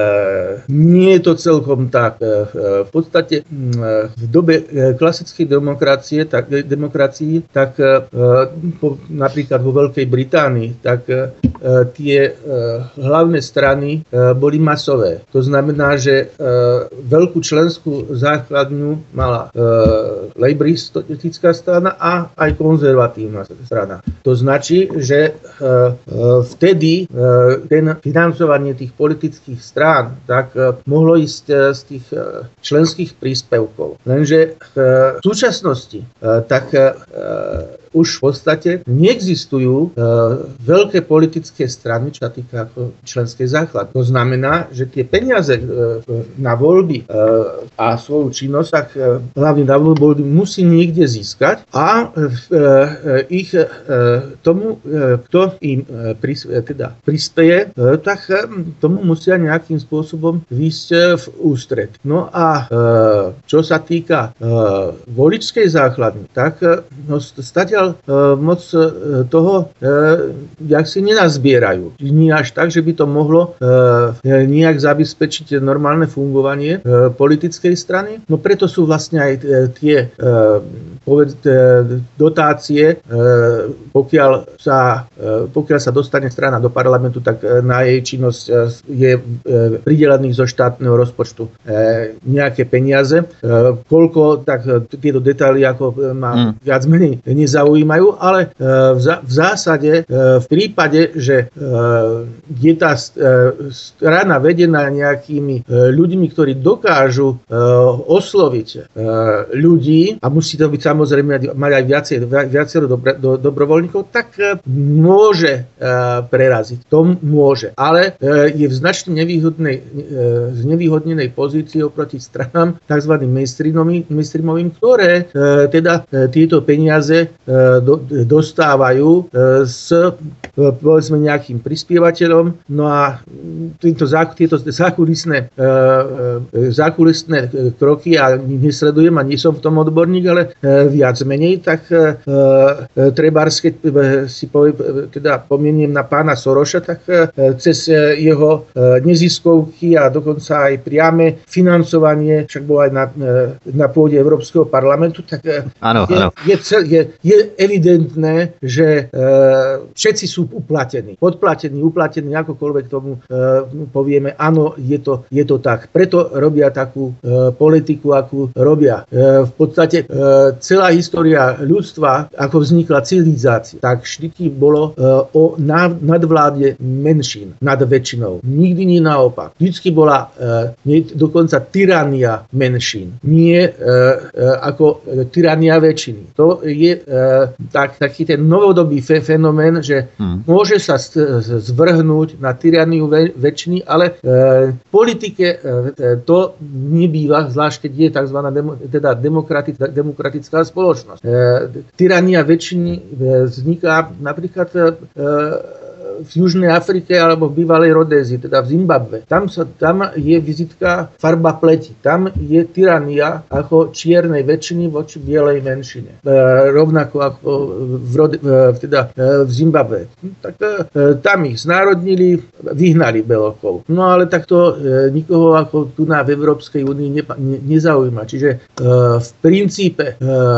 e, nie je to celkom tak. E, v podstate e, v dobe klasickej demokracie, tak, demokracii, tak e, po, napríklad vo Veľkej Británii, tak e, tie e, hlavné strany e, boli masové. To znamená, že e, veľkú členskú základňu mala e, lejbristická strana a aj konzervatívna strana. To značí, že e, e, vtedy e, ten financovanie tých politických strán tak e, mohlo ísť e, z tých e, členských príspevkov. Lenže e, v súčasnosti e, tak e, už v podstate neexistujú e, veľké politické strany, čo sa týka ako členskej základy. To znamená, že tie peniaze e, na voľby e, a svoju činnosť, tak e, hlavne na voľby musí niekde získať a e, e, ich e, tomu, e, kto im e, pris, e, teda prispeje, e, tak e, tomu musia nejakým spôsobom výjsť e, v ústred. No a e, čo sa týka e, voličskej základny, tak e, no, stadiaľ moc toho jak si nenazbierajú. Nie až tak, že by to mohlo nejak zabezpečiť normálne fungovanie politickej strany. No preto sú vlastne aj tie dotácie, pokiaľ sa, pokiaľ sa dostane strana do parlamentu, tak na jej činnosť je pridelených zo štátneho rozpočtu nejaké peniaze. Koľko, tak tieto detaily ako má viac menej nezaujímajú, ale v zásade v prípade, že je tá strana vedená nejakými ľuďmi, ktorí dokážu osloviť ľudí a musí to byť samozrejme mať aj viacero, viacero dobro, do, dobrovoľníkov, tak môže preraziť. To môže. Ale je v značne nevýhodnej, znevýhodnenej pozícii oproti stranám tzv. mainstreamovým, ktoré teda tieto peniaze do, dostávajú s povedzme nejakým prispievateľom. No a týmto, tieto zákulisné, zákulisné kroky, ja nesledujem a nie som v tom odborník, ale viac menej, tak trebárs, keď si povie, teda pomeniem na pána Soroša, tak cez jeho neziskovky a dokonca aj priame financovanie, však bol aj na, na pôde Európskeho parlamentu, tak áno, je, áno. Je, je, je evidentné, že e, všetci sú uplatení, podplatení, uplatení, akokoľvek tomu e, povieme, áno, je to, je to tak. Preto robia takú e, politiku, akú robia. E, v podstate e, celá história ľudstva, ako vznikla civilizácia, tak vždy bolo e, o nadvláde menšín nad väčšinou. Nikdy nie naopak. Vždycky bola e, nie, dokonca tyrania menšín. Nie e, e, ako tyrania väčšiny. To je e, tak, taký ten novodobý fe, fenomén, že hmm. môže sa zvrhnúť na tyraniu ve, väčšiny, ale e, v politike e, to nebýva, zvlášť keď je tzv. Demo, teda demokratická, demokratická spoločnosť. E, tyrania väčšiny e, vzniká napríklad e, v Južnej Afrike alebo v bývalej Rodézii, teda v Zimbabwe. Tam, sa, tam je vizitka farba pleti. Tam je tyrania ako čiernej väčšiny voči bielej menšine. E, rovnako ako v, Rode, e, teda, e, v Zimbabwe. Tak e, tam ich znárodnili, vyhnali Belokov. No ale takto e, nikoho ako tu na v Európskej únii ne, ne, nezaujíma. Čiže e, v princípe e,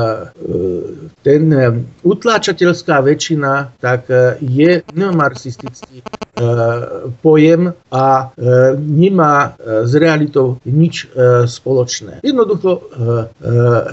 ten e, utláčateľská väčšina tak e, je neomarxistický e, pojem a e, nemá e, s realitou nič e, spoločné. Jednoducho e, e,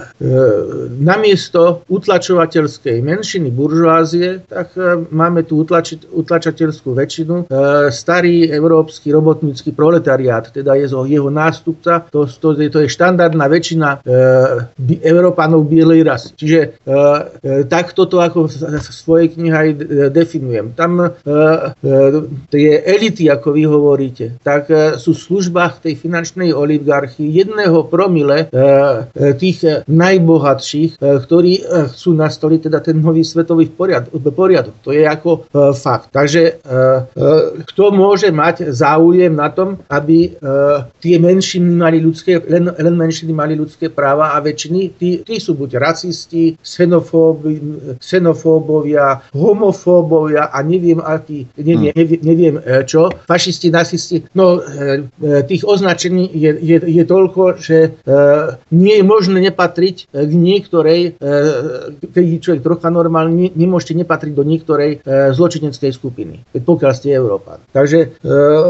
namiesto utlačovateľskej menšiny buržoázie, tak e, máme tu utlači, utlačateľskú väčšinu. E, starý európsky robotnícky proletariát, teda je jeho nástupca, to, to, to je štandardná väčšina e, Európanov bielej rasy. Čiže e, e, takto to ako v svojej knihe aj definujem. Tam e, e, tie elity, ako vy hovoríte, tak e, sú v službách tej finančnej oligarchii jedného promile e, e, tých najbohatších, e, ktorí e, chcú nastoliť teda ten nový svetový poriadok. poriadok. To je ako e, fakt. Takže e, e, kto môže mať záujem na tom, aby e, tie menšiny mali ľudské, len, len menšiny mali ľudské práva a väčšiny, tí, tí sú buď rasisti, xenofóbi, xenofóbovia, homofóbovia a neviem aký, neviem, neviem, neviem čo, fašisti, nacisti. No tých označení je, je, je toľko, že nie je možné nepatriť k niektorej, keď je človek trocha normálny, nemôžete nepatriť do niektorej zločineckej skupiny, pokiaľ ste Európan. Takže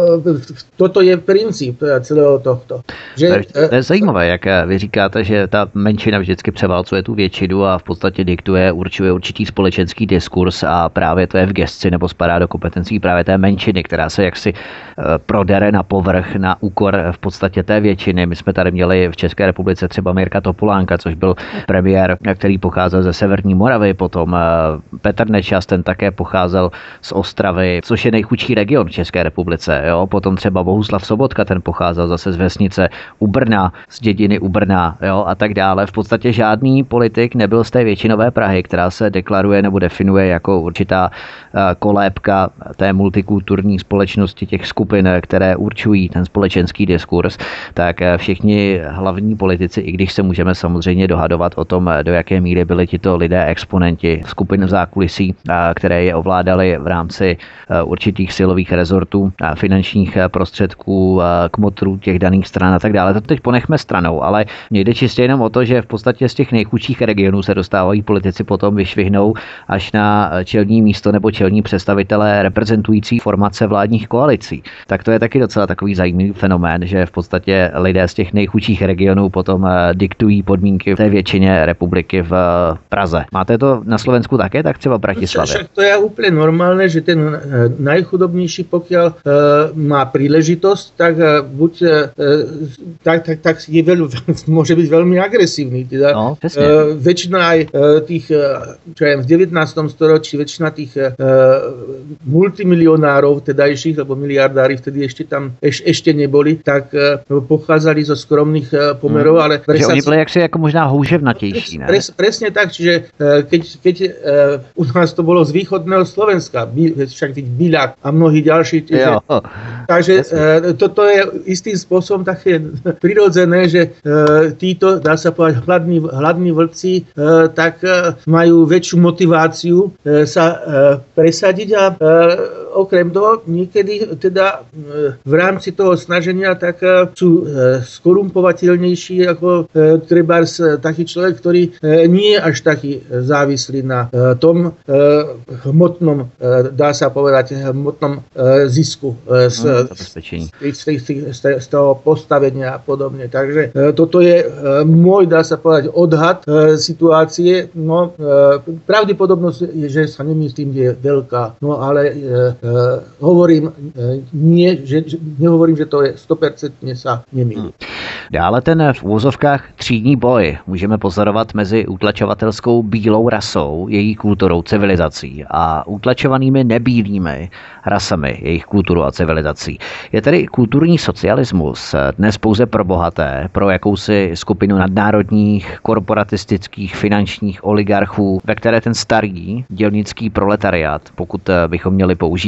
toto je princíp celého tohto. Že, to je zajímavé, jak vy říkáte, že ta menšina vždycky převálcuje tu většinu a v podstatě diktuje, určuje určitý společenský diskurs a právě to je v gesci nebo spadá do kompetencí právě té menšiny, která se jaksi prodere na povrch na úkor v podstatě té většiny. My jsme tady měli v České republice třeba Mirka Topolánka, což byl premiér, který pocházel ze Severní Moravy, potom Petr Nečas, ten také pocházel z Ostravy, což je nejchudší region v České republice. Jo? Potom třeba Bohuslav Sobotka, ten pocházel zase z vesnice u Brna, z dědiny u Brna, jo? A tak dále. V podstatě žádný politik nebyl z té většinové Prahy, která se deklaruje nebo definuje jako určitá kolébka té multikulturní společnosti, těch skupin, které určují ten společenský diskurs, tak všichni hlavní politici, i když se můžeme samozřejmě dohadovat o tom, do jaké míry byli tito lidé exponenti skupin v zákulisí, které je ovládali v rámci určitých silových rezortů, finančních prostředků, kmotrů těch daných stran a tak dále. To teď ponechme stranou, ale mně jde čistě jenom o to, že v podstatě z těch nejchudších regionů se dostávají politici potom vyšvihnou až na čelní místo nebo čelní představitelé reprezentující formace vládních koalicí. Tak to je taky docela takový zajímavý fenomén, že v podstatě lidé z těch nejchudších regionů potom diktují podmínky té většině republiky v Praze. Máte to na Slovensku také, tak třeba v Bratislavě? Však to je úplně normálne, že ten najchudobnější, pokiaľ e, má príležitosť, tak e, buď e, tak, tak, tak je veľ, môže byť veľmi agresívny. Teda, no, e, väčšina aj e, tých, čo ja v devätnástom storočí, väčšina tých e, multimilionárov tedajších, lebo miliardári vtedy ešte tam eš, ešte neboli, tak e, pochádzali zo skromných e, pomerov, hmm. ale... Že oni byli jaksi jako možná houževnatější, ne? Pres, presne tak, čiže e, keď, keď e, u nás to bolo z východného Slovenska, by, však byť Biľak a mnohí ďalší, čiže, takže e, toto je istým spôsobom také prirodzené, že e, títo, dá sa povedať, hladní, hladní vlci e, tak e, majú väčšiu motiváciu e, sa e, presadiť a e, okrem toho niekedy teda e, v rámci toho snaženia tak e, sú e, skorumpovateľnejší ako e, trebárs taký človek, ktorý e, nie je až taký závislý na e, tom e, hmotnom, e, dá sa povedať, hmotnom e, zisku e, z, no, z, z, z, z toho postavenia a podobne. Takže e, toto je e, môj, dá sa povedať, odhad e, situácie. No, e, pravdepodobnosť je, že sa nemyslím, že je veľká. No ale e, e, hovorím, e, nie, že, že, nehovorím, že to je sto percent sa nemýli. Hmm. Dále ten v úvozovkách třídní boj můžeme pozorovat mezi utlačovatelskou bílou rasou, její kulturou, civilizací a utlačovanými nebílými rasami, jejich kulturou a civilizací. Je tedy kulturní socialismus dnes pouze pro bohaté, pro jakousi skupinu nadnárodních, korporatistických, finančních oligarchů, ve které ten starý dělnický proletariát, pokud bychom měli použít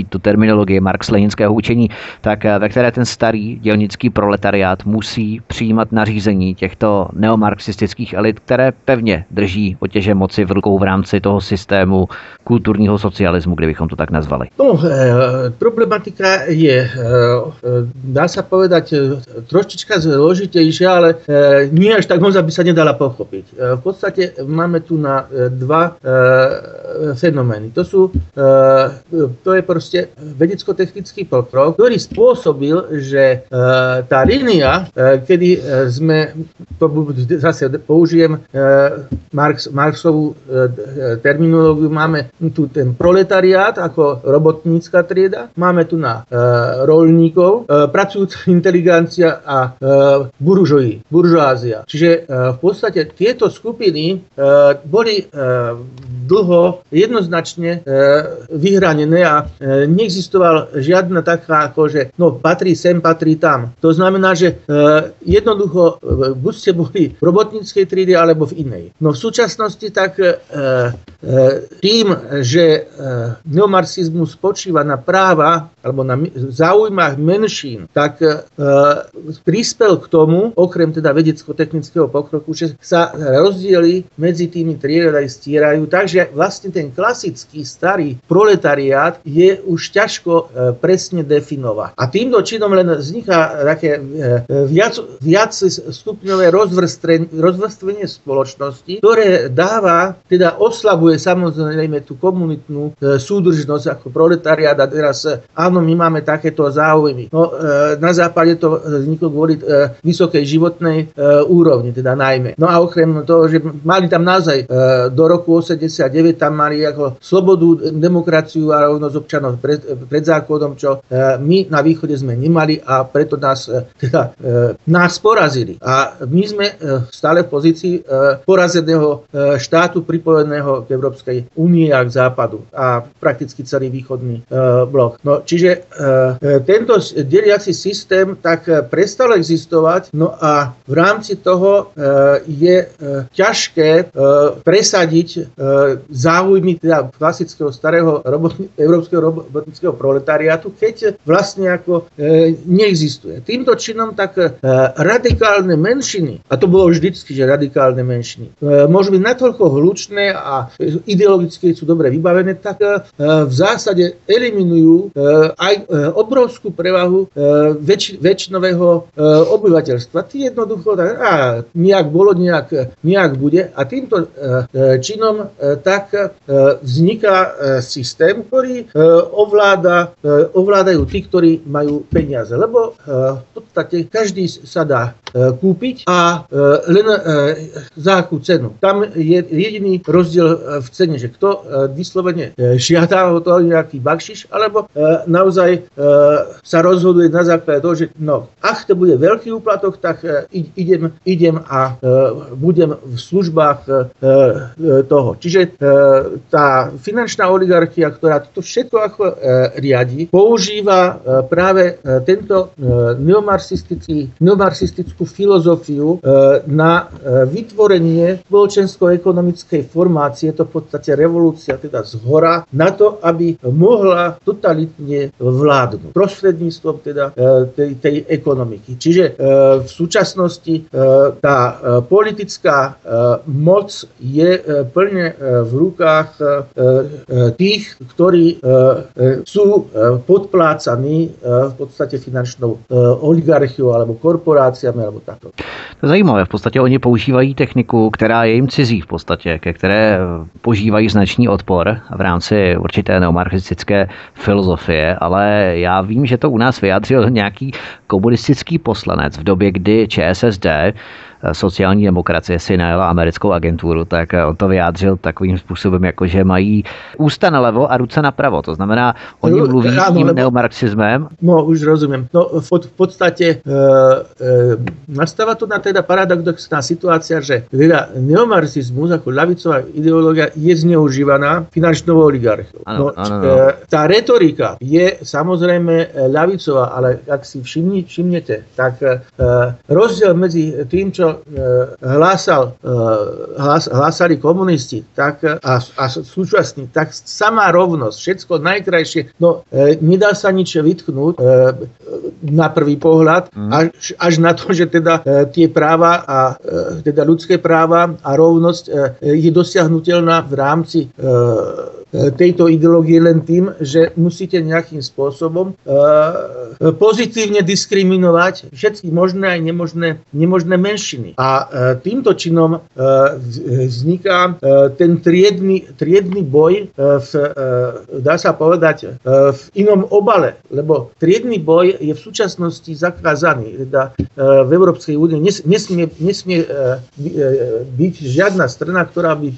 použít tu terminologii marx-leninského učení, tak ve které ten starý dělnický proletariát musí přijímat nařízení těchto neomarxistických elit, které pevně drží otěže moci v rukou v rámci toho systému kulturního socialismu, kdybychom to tak nazvali. No, problematika je, dá sa povedať, trošička zložitejšia, ale nie až tak moc, aby sa nedala pochopiť. V podstate máme tu na dva fenomény. To sú, to je proste vedecko-technický pokrok, ktorý spôsobil, že tá línia, kedy sme, to zase použijem Marx, Marxovú terminológiu, máme tu ten proletariát ako robotnícka trieda, máme tu na roľníkov, pracujúca inteligencia a buržoji, buržoázia. Čiže v podstate tieto skupiny boli dlho jednoznačne vyhranené a neexistoval žiadna taká, ako že no, patrí sem, patrí tam. To znamená, že jednoducho buď ste boli v robotníckej triede, alebo v inej. No v súčasnosti tak tým, že neomarxizmus spočíva na práva alebo na záujmách menšín, tak prispel k tomu, okrem teda vedecko-technického pokroku, že sa rozdiely medzi tými triedami stierajú. Takže vlastne ten klasický starý proletariát je už ťažko presne definovať. A týmto činom len vzniká také viac, viac stupňové rozvrstvenie spoločnosti, ktoré dáva, teda oslabuje samozrejme tú komunitnú súdržnosť ako proletariát a teraz áno, my máme takéto záujmy. No, na západe to vzniklo kvôli vysokej životnej úrovni, teda najmä. No a okrem toho, že mali tam naozaj do roku osemdesiatdeväť tam mali ako slobodu, demokraciu a rovnosť občanov pred, pred zákonom, čo my na východe sme nemali a preto nás, teda, nás porazili. A my sme stále v pozícii porazeného štátu pripojeného k Európskej únie a k západu a prakticky celý východný blok. No, čiže tento deliaci systém tak prestal existovať, no a v rámci toho je ťažké presadiť záujmy teda klasického starého robotní, európskeho robotníckeho proletariátu, keď vlastne ako neexistuje. Týmto činom tak radikálne menšiny, a to bolo vždycky, že radikálne menšiny, môžu byť natoľko hlučné a ideologicky sú dobre vybavené, tak v zásade eliminujú aj obrovskú prevahu väč, väčšinového obyvateľstva. Tí jednoducho tak, a nejak bolo, nejak, nejak bude. A týmto činom tak vzniká systém, ktorý ovláda, ovládajú tí, ktorí majú peniaze. Lebo v podstate každý sa dá kúpiť a len za akú cenu. Tam je jediný rozdiel v cene, že kto vyslovene žiada o to nejaký bakšiš, alebo naozaj sa rozhoduje na základe toho, že no, ak to bude veľký úplatok, tak idem, idem a budem v službách toho. Čiže tá finančná oligarchia, ktorá to všetko ako riadi, používa práve tento neomarxistický, neomarxistickú filozofiu na vytvorenie spoločensko-ekonomickej formácie, to v podstate revolúcia teda zhora, na to, aby mohla totalitne vládnuť prostredníctvom teda tej, tej ekonomiky. Čiže v súčasnosti tá politická moc je plne v rukách tých, ktorí sú podplácaní v podstate finančnou oligarchiou alebo korporáciami alebo takto. To je zajímavé. V podstatě oni používají techniku, která je jim cizí v podstatě, ke které požívají značný odpor v rámci určité neomarxistické filozofie, ale já vím, že to u nás vyjádřil nějaký komunistický poslanec v době, kdy ČSSD, sociální demokracie, si najela americkou agenturu, tak on to vyjádřil takovým způsobem, jako že mají ústa nalevo a ruce napravo. To znamená, oni no, mluví áno, tím lebo, neomarxizmem. No, už rozumiem. No, v, v podstate e, e, nastáva tu na teda paradoxná situácia, že teda neomarxizmus ako ľavicová ideológia je zneužívaná finančnou oligarchiou. No, ano, no. e, tá retorika je samozrejme ľavicová, ale ak si všimni, všimnete, tak e, rozdiel medzi tým, čo čo hlásal, hlás, hlásali komunisti tak, a, a súčasní, tak samá rovnosť, všetko najkrajšie, no nedá sa nič vytknúť na prvý pohľad, až, až na to, že teda tie práva a teda ľudské práva a rovnosť je dosiahnutelná v rámci tejto ideológie len tým, že musíte nejakým spôsobom pozitívne diskriminovať všetky možné aj nemožné, nemožné menšiny. A týmto činom vzniká ten triedny, triedny boj v, dá sa povedať, v inom obale, lebo triedny boj je v súčasnosti zakázaný. Teda v Európskej únii nesmie, nesmie byť žiadna strana, ktorá by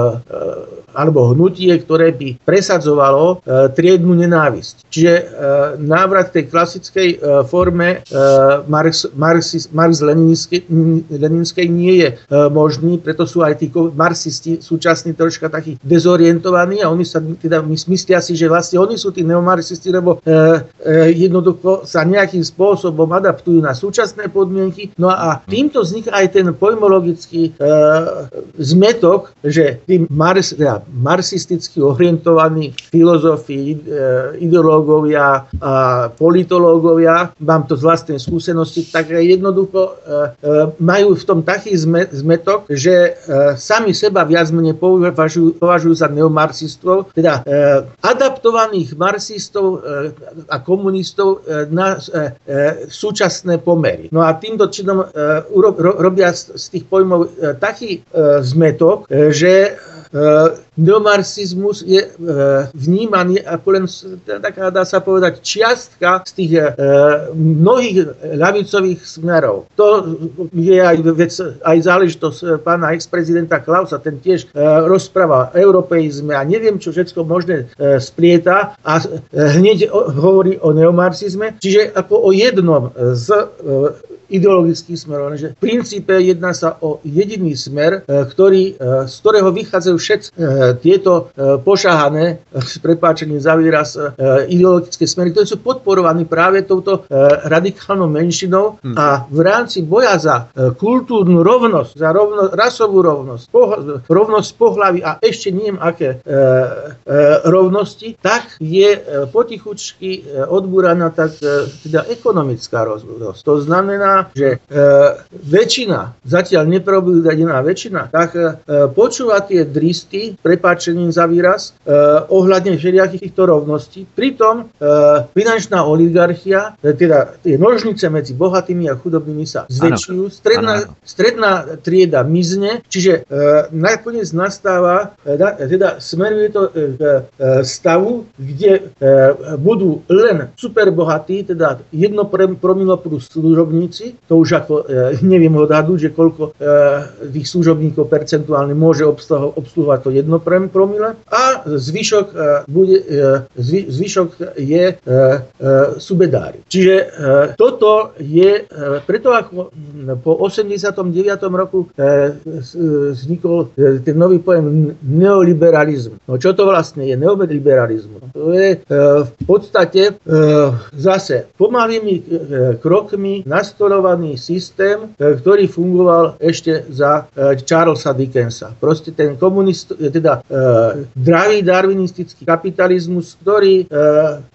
alebo hnutie, ktoré by presadzovalo e, triednu nenávisť. Čiže e, návrat tej klasickej e, forme e, Marx, Marx, Marx-Leninskej nie je e, možný, preto sú aj tí marxisti súčasní troška takí dezorientovaní a oni sa teda myslia si, že vlastne oni sú tí neomarxisti, lebo e, e, jednoducho sa nejakým spôsobom adaptujú na súčasné podmienky. No a týmto vzniká aj ten pojmologický e, zmetok, že tí Marx, teda marxisticky orientovaní filozofi, ideológovia a politológovia, mám to z vlastnej skúsenosti, tak jednoducho majú v tom taký zmetok, že sami seba viac menej považujú, považujú za neomarxistov, teda adaptovaných marxistov a komunistov na súčasné pomery. No a týmto činom robia z tých pojmov taký zmetok, že neomarxizmus je vnímaný ako len taká, dá sa povedať, čiastka z tých mnohých ľavicových smerov. To je aj, vec, aj záležitosť pána ex-prezidenta Klausa, ten tiež rozpráva o europeizme a neviem, čo všetko možné splieta a hneď hovorí o neomarxizme, čiže ako o jednom z ideologický smer, lenže v princípe jedná sa o jediný smer, ktorý, z ktorého vychádzajú všetci tieto pošahané, s prepáčením za výraz, ideologické smery, ktoré sú podporovaní práve touto radikálnou menšinou hmm. a v rámci boja za kultúrnu rovnosť, za rovno, rasovú rovnosť, poh- rovnosť pohlaví a ešte neviem aké e, e, rovnosti, tak je potichučky odbúraná tak teda ekonomická rovnosť. To znamená, že e, väčšina, zatiaľ neprobúdaná väčšina, tak e, počúva tie dristy, prepáčením za výraz, e, ohľadne všelijakých týchto rovností. Pritom e, finančná oligarchia, e, teda tie nožnice medzi bohatými a chudobnými sa zväčšujú, stredná, stredná trieda mizne, čiže e, nakoniec nastáva, e, teda smeruje to k e, stavu, kde e, budú len superbohatí, teda jedno promilo plus služobníci. To už ako e, neviem odhadnúť, že koľko e, tých služobníkov percentuálne môže obsluhovať to jedno promile a zvyšok, e, bude, e, zvy, zvyšok je e, e, subedári. Čiže e, toto je, e, preto ako po osemdesiatom deviatom roku e, vznikol e, ten nový pojem neoliberalizmu. No čo to vlastne je neoliberalizmus? To je e, v podstate e, zase pomalými e, krokmi nastolovaný systém, ktorý fungoval ešte za Charlesa Dickensa. Proste ten komunist, teda e, dravý darwinistický kapitalizmus, ktorý e, e,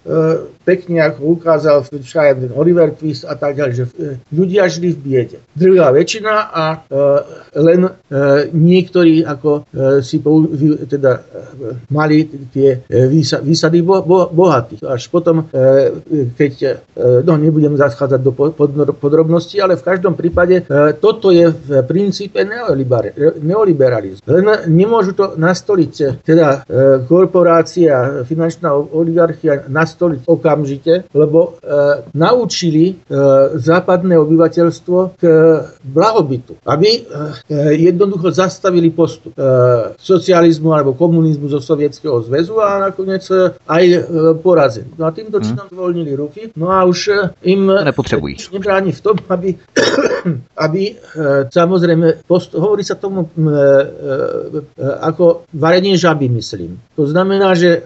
pekne ako ukázal ten Oliver Twist a tak ďalej, že ľudia žili v biede. Druhá väčšina a e, len e, niektorí ako e, si pou, teda, e, mali tie výsa, výsady bo, bo, bohatých. Až potom, e, keď e, no nebudem zachádzať do podrobností, ale v každom prípade e, toto je v princípe neoliberalizmus. Len nemôžu to nastoliť, teda e, korporácia, finančná oligarchia nastoliť okamžite, lebo e, naučili e, západné obyvateľstvo k blahobytu, aby e, jednoducho zastavili postup e, socializmu alebo komunizmu zo Sovietskeho zväzu a nakoniec e, aj e, porazili. No a týmto činom zvolnili ruky, no a už e, im nepotřebují. Nebráni v tom, tomu, aby, aby samozrejme, post, hovorí sa tomu ako varenie žaby, myslím. To znamená, že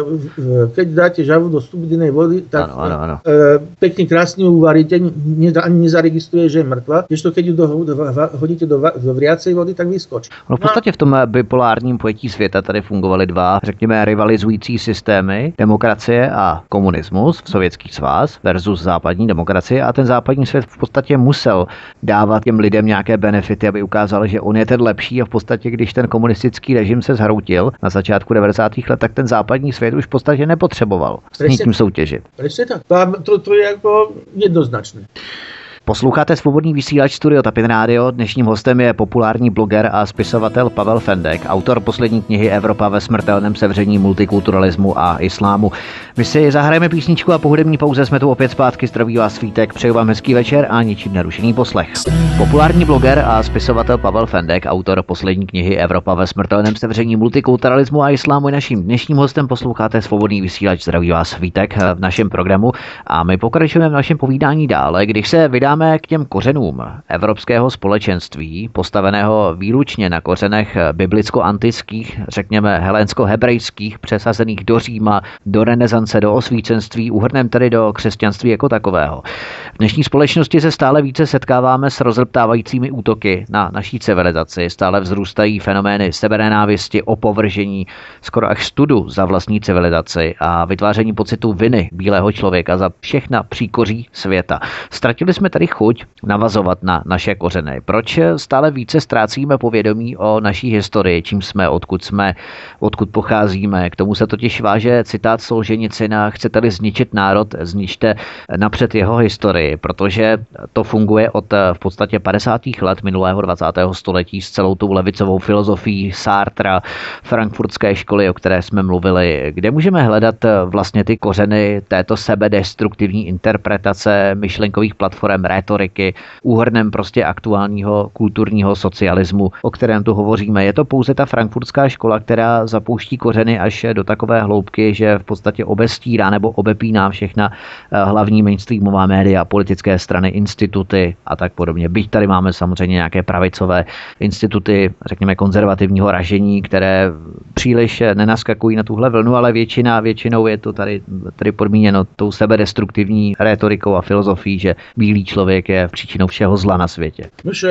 keď dáte žabu do studenej vody, tak ano, ano, ano. pekne krásne ju uvaríte, ani nezaregistruje, že je mŕtva. Ešte keď ju do, do, hodíte do, do vriacej vody, tak vyskočí. No v podstatě v tom bipolárním pojetí světa tady fungovaly dva, řekněme, rivalizující systémy, demokracie a komunismus, Sovětský svaz versus západní demokracie, a ten západní svět v podstatě musel dávat těm lidem nějaké benefity, aby ukázal, že on je ten lepší, a v podstatě, když ten komunistický režim se zhroutil na začátku devadesátých let, tak ten západní svět už v podstatě nepotřeboval s nikým soutěžit. Presne tak. To, to je jako jednoznačné. Posloucháte Svobodný vysílač Studio Tapin Radio. Dnešním hostem je populární bloger a spisovatel Pavel Fendek, autor poslední knihy Evropa ve smrtelném sevření multikulturalismu a islámu. My si zahrajeme písničku a po hudební pauze jsme tu opět zpátky. Zdraví vás Svítek, přeju vám hezký večer a ničím nerušený poslech. Populární bloger a spisovatel Pavel Fendek, autor poslední knihy Evropa ve smrtelném sevření multikulturalismu a islámu, je naším dnešním hostem. Posloucháte Svobodný vysílač, zdraví vás Svítek v našem programu a my pokračujeme v našem povídání dále, když se vydá k těm kořenům evropského společenství, postaveného výlučně na kořenech biblicko-antických, řekněme helénsko-hebrejských, přesazených do Říma, do renesance, do osvícenství, uhrnem tedy do křesťanství jako takového. V dnešní společnosti se stále více setkáváme s rozleptávajícími útoky na naší civilizaci, stále vzrůstají fenomény sebenenávisti, opovržení, skoro až studu za vlastní civilizaci a vytváření pocitu viny bílého člověka za všechna příkoří světa. Ztratili jsme tady chuť navazovat na naše kořeny. Proč stále více ztrácíme povědomí o naší historii, čím jsme, odkud jsme, odkud pocházíme? K tomu se totiž váže citát Solženicina: chcete-li zničit národ, zničte napřed jeho historii, protože to funguje od v podstatě padesátých let minulého dvacátého století s celou tou levicovou filozofií Sartra, frankfurtské školy, o které jsme mluvili. Kde můžeme hledat vlastně ty kořeny této sebedestruktivní interpretace myšlenkových platform, rétoriky, úhrnem prostě aktuálního kulturního socialismu, o kterém tu hovoříme? Je to pouze ta frankfurtská škola, která zapouští kořeny až do takové hloubky, že v podstatě obestírá nebo obepíná všechna hlavní mainstreamová média, politické strany, instituty a tak podobně. Byť tady máme samozřejmě nějaké pravicové instituty, řekněme konzervativního ražení, které příliš nenaskakují na tuhle vlnu, ale většina, většinou je to tady, tady podmíněno tou sebedestruktivní rétorikou a filozofií, že bílý člověk je příčinou všeho zla na světě. Nož,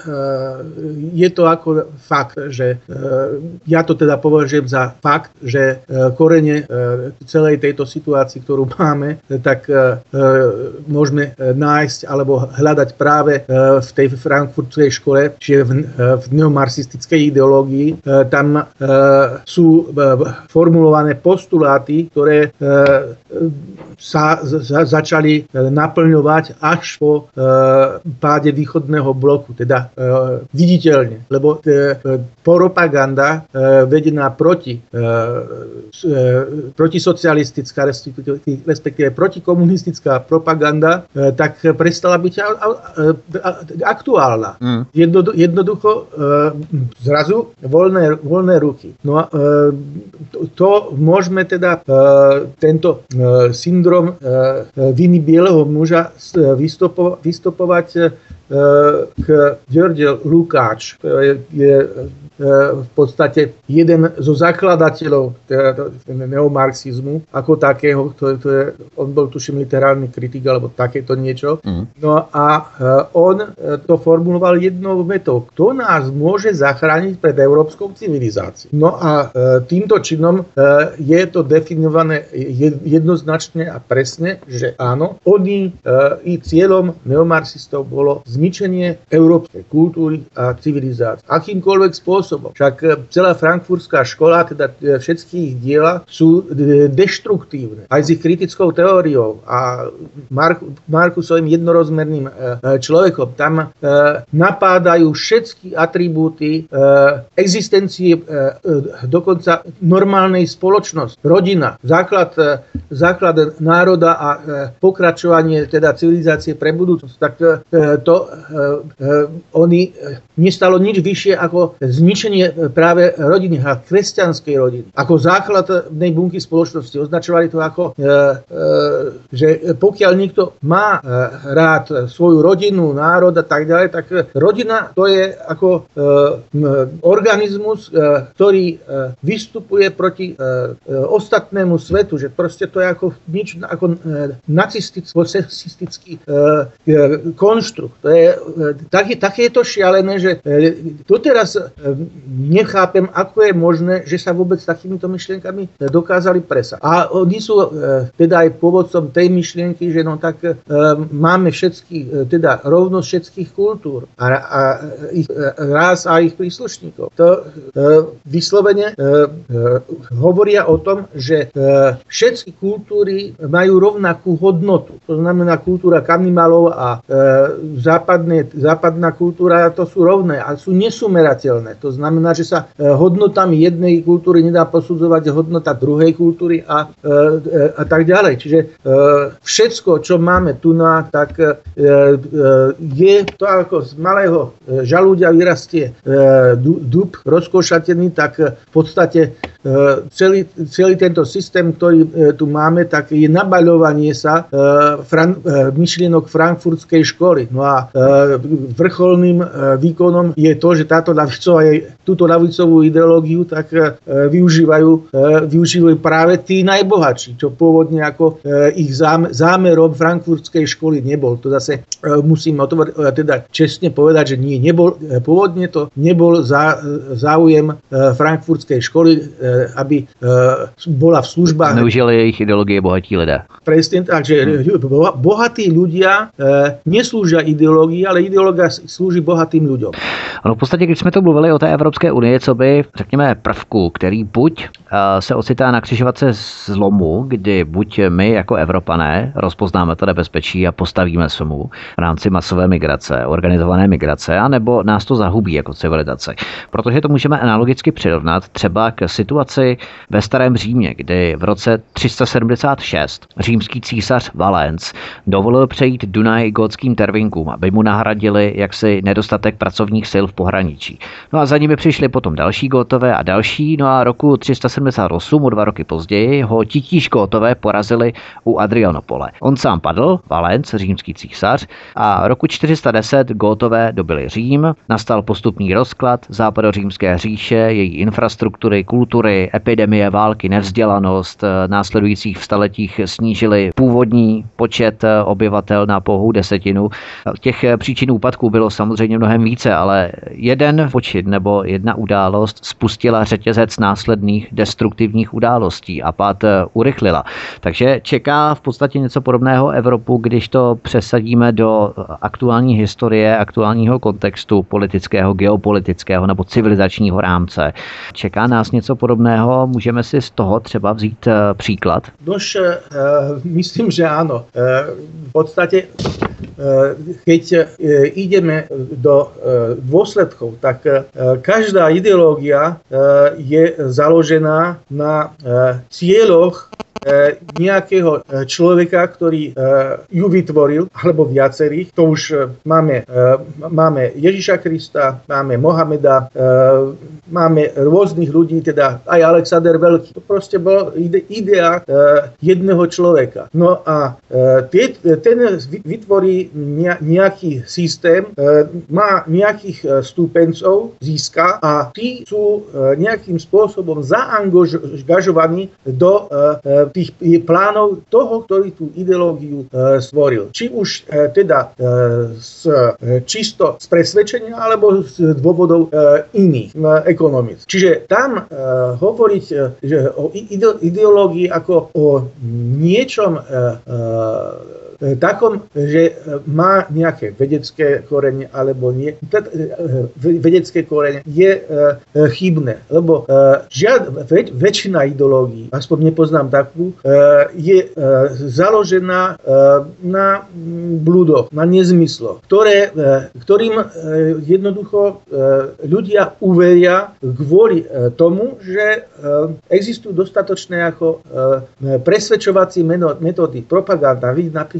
je to ako fakt, že ja to teda považujem za fakt, že korene celej tejto situácii, ktorú máme, tak môžeme nájsť alebo hľadať práve v tej frankfurtskej škole, čiže v, v neomarxistickej ideológii. Tam sú formulované postuláty, ktoré sa začali naplňovať až po páde východného bloku, teda viditeľne, lebo propaganda vedená proti protisocialistická, respektíve protikomunistická propaganda, tak prestala byť aktuálna. Mm. Jednoducho zrazu voľné, voľné ruky. No a to, to môžeme teda tento syndrom viny bieleho muža vystopo, vystopovať k Ďorđe Lukács, je, je v podstate jeden zo zakladateľov neomarxizmu ako takého, to, to je, on bol tuším literárny kritik alebo takéto niečo. Mm. No a on to formuloval jednou vetou: kto nás môže zachrániť pred európskou civilizáciou? No a týmto činom je to definované jednoznačne a presne, že áno, oni i cieľom neomarxistov bolo zničenie európskej kultúry a civilizácie. Akýmkoľvek spôsobom. Však celá frankfurtská škola, teda všetky ich diela sú deštruktívne. Aj s ich kritickou teóriou a Mark, Markusovým jednorozmerným človekom. Tam napádajú všetky atribúty existencie dokonca normálnej spoločnosti. Rodina, základ, základ národa a pokračovanie teda civilizácie pre budúcnosť. Tak to lebo oni nestalo nič vyššie ako zničenie práve rodiny a kresťanskej rodiny. Ako základnej bunky spoločnosti. Označovali to ako, že pokiaľ niekto má rád svoju rodinu, národ a tak ďalej, tak rodina to je ako organizmus, ktorý vystupuje proti ostatnému svetu, že proste to je ako nič ako nacistický konštrukt. To je, tak, také je to šialené, že doteraz nechápem, ako je možné, že sa vôbec takýmito myšlienkami dokázali presať. A oni sú teda aj pôvodcom tej myšlienky, že no tak máme všetky, teda rovnosť všetkých kultúr a, a ich rás a ich príslušníkov. To vyslovene hovoria o tom, že všetky kultúry majú rovnakú hodnotu. To znamená, kultúra kanibalov a západné, západná kultúra to sú rovné a sú nesumerateľné. To znamená, že sa hodnotami jednej kultúry nedá posudzovať hodnota druhej kultúry a, a tak ďalej. Čiže všetko, čo máme tu na, tak je to ako z malého žalúďa vyrastie dub rozkošatený, tak v podstate celý, celý tento systém, ktorý tu máme, tak je nabaľovanie sa fran, myšlienok frankfurtskej školy. No a vrcholným výkonom je to, že táto ľavicová, túto ľavicovú ideológiu tak využívajú, využívajú práve tí najbohatší, čo pôvodne ako ich zámerom frankfurtskej školy nebol. To zase musím otvor, teda čestne povedať, že nie, nebol, pôvodne to nebol zá, záujem frankfurtskej školy, aby bola v službách. Neužili jejich ideologie bohatí lidé. Presne tak, že bohatí ľudia neslúžia ideológii, ale ideológia slúži bohatým ľuďom. Ono v podstatě, když jsme to mluvili o té Evropské unii, co by, řekněme, prvku, který buď se ocitá na křižovatce zlomu, kdy buď my jako Evropané rozpoznáme to nebezpečí a postavíme se mu v rámci masové migrace, organizované migrace, anebo nás to zahubí jako civilizaci. Protože to můžeme analogicky přirovnat třeba k situaci ve Starém Římě, kdy v roce tři sta sedmdesát šest římský císař Valens dovolil přejít Dunaj gotským tervinkům, aby mu nahradili jaksi nedostatek pracovních sil v pohraničí. No a za nimi přišli potom další Gótové a další, no a roku tři sta sedmdesát osm, o dva roky později, ho titíž Gótové porazili u Adrianopole. On sám padl, Valens, římský císař, a roku čtyři sta deset Gótové dobili Řím, nastal postupný rozklad západořímské říše, její infrastruktury, kultury, epidemie, války, nevzdělanost, následujících v staletích snížili původní počet obyvatel na pouhou desetinu. Těch příčin úpadků bylo samozřejmě mnohem více, ale jeden počin nebo jedna událost spustila řetězec následných destruktivních událostí a pád urychlila. Takže čeká v podstatě něco podobného Evropu, když to přesadíme do aktuální historie, aktuálního kontextu politického, geopolitického nebo civilizačního rámce. Čeká nás něco podobného? Můžeme si z toho třeba vzít příklad? Nož, myslím, že áno. V podstate, keď ideme do dôsledkov, tak každá ideológia je založená na cieľoch nejakého človeka, ktorý ju vytvoril, alebo viacerých. To už máme, máme Ježiša Krista, máme Mohameda, máme rôznych ľudí, teda aj Alexander Veľký. To proste bol idea jedného človeka. No a ten vytvorí nejaký systém, má nejakých stúpencov, získa a tí sú nejakým spôsobom zaangažovaní do tých plánov toho, ktorý tú ideológiu e, stvoril. Či už e, teda e, z, e, čisto z presvedčenia, alebo z dôvodov e, iných e, ekonomických. Čiže tam e, hovoriť e, že o ide, ideológii ako o niečom e, e, takom, že má nejaké vedecké korene alebo nie. Vedecké korene je chybné, lebo žiad, väč, väčšina ideológií, aspoň nepoznám takú, je založená na blúdoch, na nezmysloch, ktoré, ktorým jednoducho ľudia uveria kvôli tomu, že existujú dostatočné ako presvedčovacie metódy, propaganda. Vidíte napríklad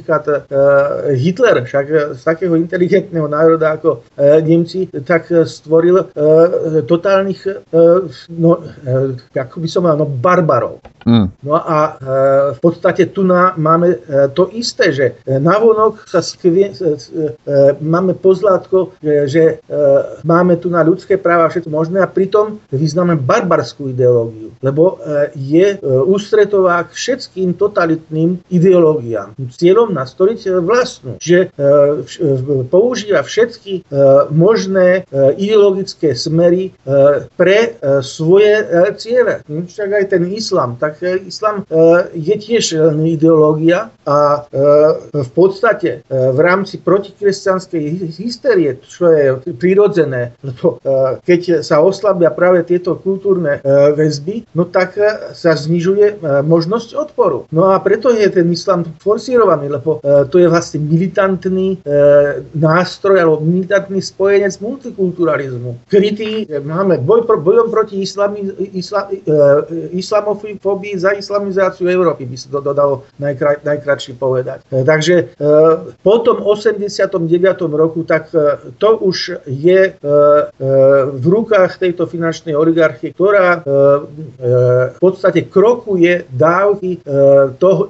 napríklad Hitler, však z takého inteligentného národa ako Nemci, tak stvoril totálnych, no, ako by som mal, no, barbarov. Mm. No a v podstate tu na, máme to isté, že navonok sa skvie, máme pozlátko, že, že máme tu na ľudské práva všetko možné a pritom vyznáme barbarskú ideológiu, lebo je ústretová k všetkým totalitným ideológiám. Cieľom nastoliť vlastnú, že používa všetky možné ideologické smery pre svoje ciele. Však aj ten islám, tak islám je tiež ideológia a v podstate v rámci protikresťanskej hystérie, čo je prirodzené, lebo keď sa oslabia práve tieto kultúrne väzby, no tak sa znižuje možnosť odporu. No a preto je ten islám forsírovaný, lebo to je vlastne militantný nástroj alebo militantný spojenec multikulturalizmu. Krytý, máme boj, bojom proti islami, isla, islamofóbii, za islamizáciu Európy, by sa to dodalo najkrá, najkratšie povedať. Takže po tom osemdesiatom deviatom roku, tak to už je v rukách tejto finančnej oligarchie, ktorá v podstate krokuje dávky toho,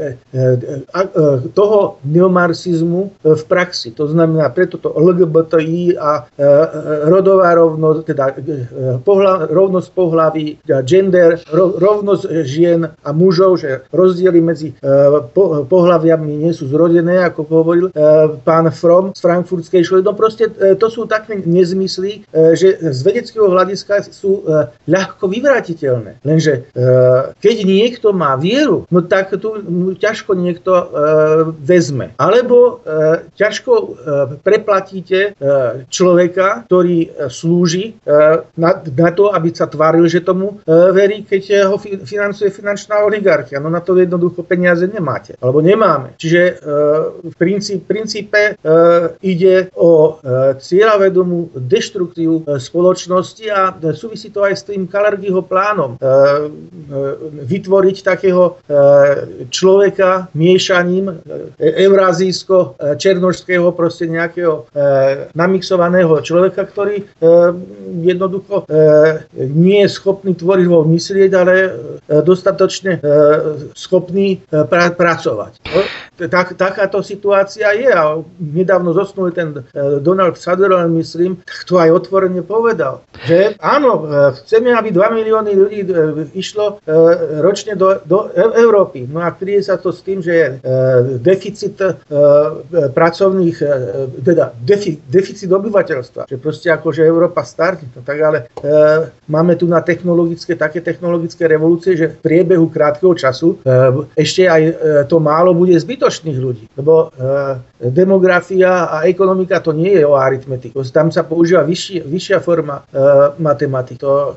toho neomarxizmu v praxi. To znamená, preto to el gé bé té í a rodová rovnosť, teda pohľa, rovnosť pohlaví, gender, rovnosť žien a mužov, že rozdiely medzi po, pohlaviami nie sú zrodené, ako hovoril pán Fromm z frankfurtskej školy. No proste to sú také nezmysly, že z vedeckého hľadiska sú ľahko vyvrátiteľné. Lenže keď niekto má vieru, no tak tu ťažko niekto vezme. Alebo ťažko preplatíte človeka, ktorý slúži na, na to, aby sa tváril, že tomu verí, keď ho financuje finančná oligarchia. No na to jednoducho peniaze nemáte. Alebo nemáme. Čiže v princípe, princípe ide o cieľavedomú deštrukciu spoločnosti a súvisí to aj s tým Kalergiho plánom. Vytvoriť takého človeka miešaním eurázijsko-černošského proste nejakého namixovaného človeka, ktorý jednoducho nie je schopný tvorivo myslieť, ale dostatočne schopný pra- pracovať. Tak, takáto situácia je a nedávno zosnul ten Donald Sutherland, myslím, tak to aj otvorene povedal, že áno, chceme, aby dva milióny ľudí išlo ročne do, do Európy. No a kryje sa to s tým, že je deficit pracovných, teda defi, deficit obyvateľstva, že proste akože Európa starne. No tak ale máme tu na technologické, také technologické revolúcie, že v priebehu krátkeho času ešte aj to málo bude zbytočných ľudí. Lebo demografia a ekonomika to nie je o aritmetiku. Tam sa používa vyššia, vyššia forma matematiky. To,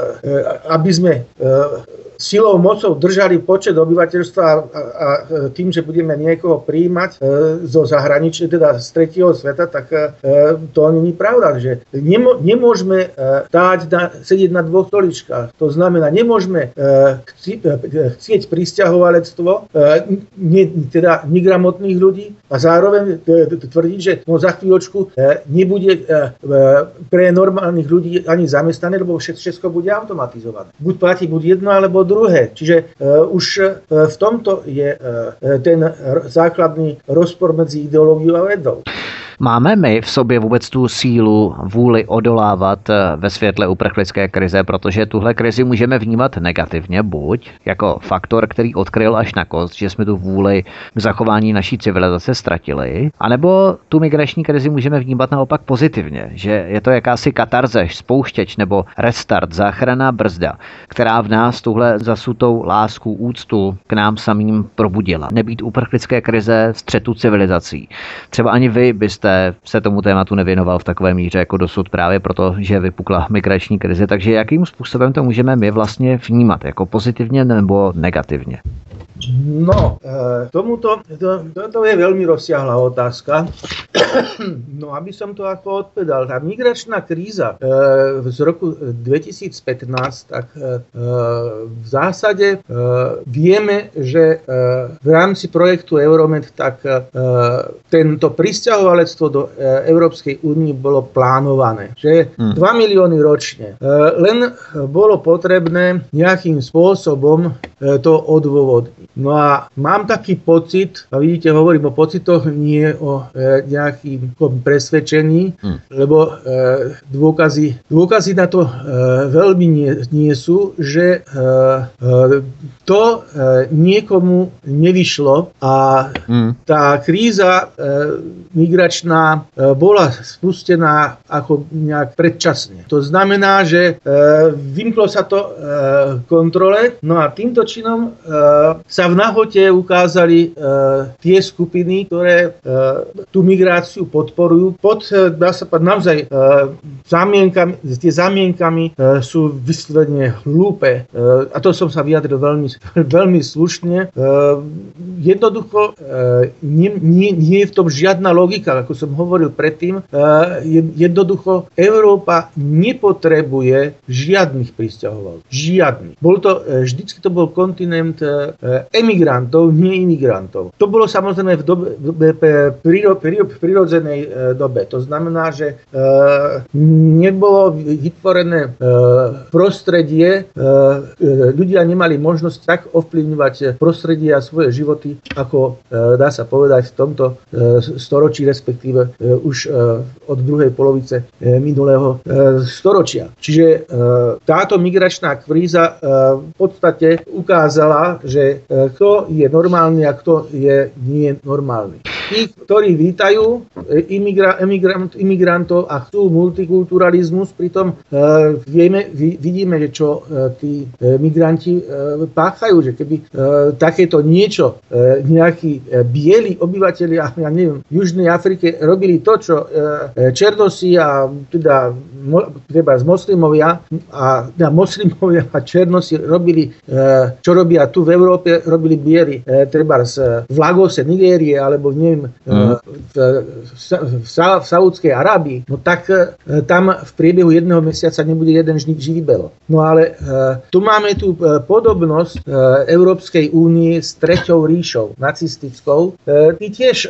aby sme silou, mocou držali počet obyvateľstva a, a tým, že budeme niekoho prijímať e, zo zahraničia, teda z tretieho sveta, tak e, to nie je pravda. Že nemo, nemôžeme e, dáť na, sedieť na dvoch stoličkách. To znamená, nemôžeme e, chci, e, chcieť prisťahovalectvo, e, ne, teda negramotných ľudí a zároveň e, tvrdiť, že no, za chvíľočku e, nebude e, pre normálnych ľudí ani zamestnané, lebo všetko bude automatizované. Buď platí buď jedno, alebo druhé. Čiže uh, už uh, v tomto je uh, ten r- základný rozpor medzi ideológiou a vedou. Máme my v sobě vůbec tu sílu, vůli odolávat ve světle uprchlické krize, protože tuhle krizi můžeme vnímat negativně, buď jako faktor, který odkryl až na kost, že jsme tu vůli k zachování naší civilizace ztratili, anebo tu migrační krizi můžeme vnímat naopak pozitivně, že je to jakási katarze, spouštěč nebo restart, záchranná brzda, která v nás tuhle zasutou lásku, úctu k nám samým probudila. Nebýt uprchlické krize, střetu civilizací. Třeba ani vy byste jste se tomu tématu nevěnoval v takové míře jako dosud právě proto, že vypukla migrační krize. Takže jakým způsobem to můžeme my vlastně vnímat? Jako pozitivně nebo negativně? No, tomuto, to, toto je veľmi rozsiahla otázka. No, aby som to ako odpovedal, tá migračná kríza z roku dvetisícpätnásť, tak v zásade vieme, že v rámci projektu Euromed tak tento prisťahovalectvo do Európskej únie bolo plánované, že hmm. dva milióny ročne. Len bolo potrebné nejakým spôsobom to odôvodniť. No a mám taký pocit, a vidíte, hovorím o pocitoch, nie o e, nejakým presvedčení, mm. lebo e, dôkazy, dôkazy na to e, veľmi nie, nie sú, že e, e, to e, niekomu nevyšlo a mm. tá kríza e, migračná e, bola spustená ako nejak predčasne. To znamená, že e, vymklo sa to e, kontrole, no a týmto činom e, sa v nahote ukázali e, tie skupiny, ktoré e, tú migráciu podporujú. Pod, dá sa povedať, naozaj e, zamienkami, tie zamienkami e, sú vyslovene hlúpe. E, a to som sa vyjadril veľmi, veľmi slušne. E, jednoducho e, nie, nie, nie je v tom žiadna logika, ako som hovoril predtým. E, jednoducho Európa nepotrebuje žiadnych prisťahovalcov. Žiadnych. Bol to, e, vždycky to bol kontinent e, emigrantov, nie imigrantov. To bolo samozrejme v, dobe, v, príro, príro, v prirodzenej e, dobe. To znamená, že e, nebolo vytvorené e, prostredie, e, ľudia nemali možnosť tak ovplyvňovať prostredie a svoje životy, ako e, dá sa povedať v tomto e, storočí, respektíve e, už e, od druhej polovice e, minulého e, storočia. Čiže e, táto migračná kríza e, v podstate ukázala, že kto je normálny a kto je nie normálny. Tí, ktorí vítajú imigra, emigrant, imigrantov a chcú multikulturalizmus, pritom e, vieme, vid, vidíme, že čo e, tí e, migranti e, páchajú, že keby e, takéto niečo e, nejakí e, bieli obyvateľia, ja neviem, v Južnej Afrike robili to, čo e, černosi a teda mo, treba z moslimovia a teda moslimovia a černosi robili, e, čo robia tu v Európe, robili bieli, e, treba z, v Lagose, Nigérie, alebo neviem, Mm. v, v, v, v Saúdskej Arábii, no tak e, tam v priebehu jedného mesiaca nebude jeden živý belo. No ale e, tu máme tú e, podobnosť e, Európskej únie s Treťou ríšou, nacistickou. E, tí tiež e,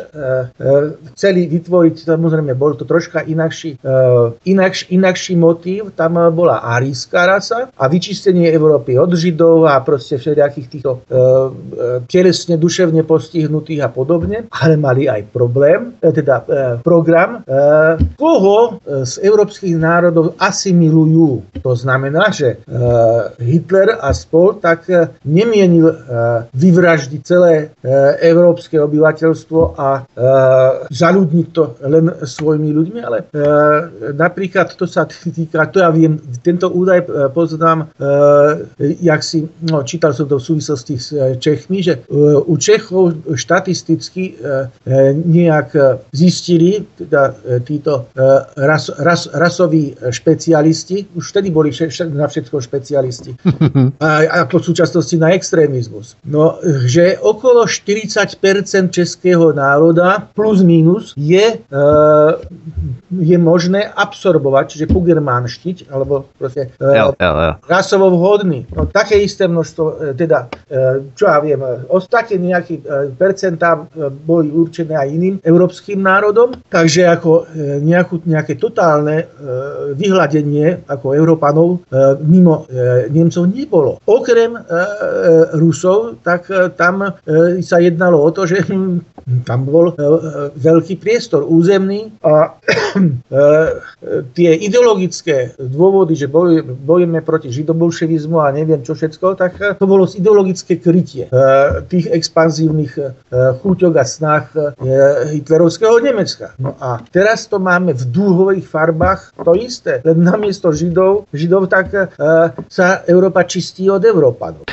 e, chceli vytvoriť, samozrejme, bol to troška inakší, e, inakš, inakší motív, tam bola arijská rasa a vyčistenie Európy od Židov a proste všelijakých týchto e, e, telesne, duševne postihnutých a podobne, ale mali aj problém, teda e, program, e, koho z európskych národov asimilujú. To znamená, že e, Hitler a spol tak e, nemienil e, vyvraždiť celé e, európske obyvateľstvo a e, zaľudniť to len svojimi ľuďmi, ale e, napríklad to sa týka, to ja viem, tento údaj e, poznám, e, jak si, no, čítal som to v súvislosti s e, Čechmi, že e, u Čechov štatisticky e, nejak zistili, teda títo ras, ras, rasoví špecialisti, už vtedy boli na všetko špecialisti, a, a po súčasnosti na extrémizmus. No, že okolo štyridsať percent českého národa plus minus je, je možné absorbovať, čiže pugermánštiť, alebo proste jo, jo, jo. rasovo vhodný. No, také isté množstvo, teda, čo ja viem, také nejaké percentá boli určené aj iným európskym národom, takže ako nejakú, nejaké totálne e, vyhľadenie ako Európanov e, mimo e, Nemcov nebolo. Okrem e, e, Rusov, tak e, tam e, sa jednalo o to, že hm, tam bol e, veľký priestor územný a e, tie ideologické dôvody, že boj, bojujeme proti židobolševizmu a neviem čo všetko, tak to bolo ideologické krytie e, tých expanzívnych e, chúťok a snách hitlerovského Nemecka. No a teraz to máme v dúhových farbách to isté. Len namiesto Židov, Židov tak e, sa Európa čistí od Európanov.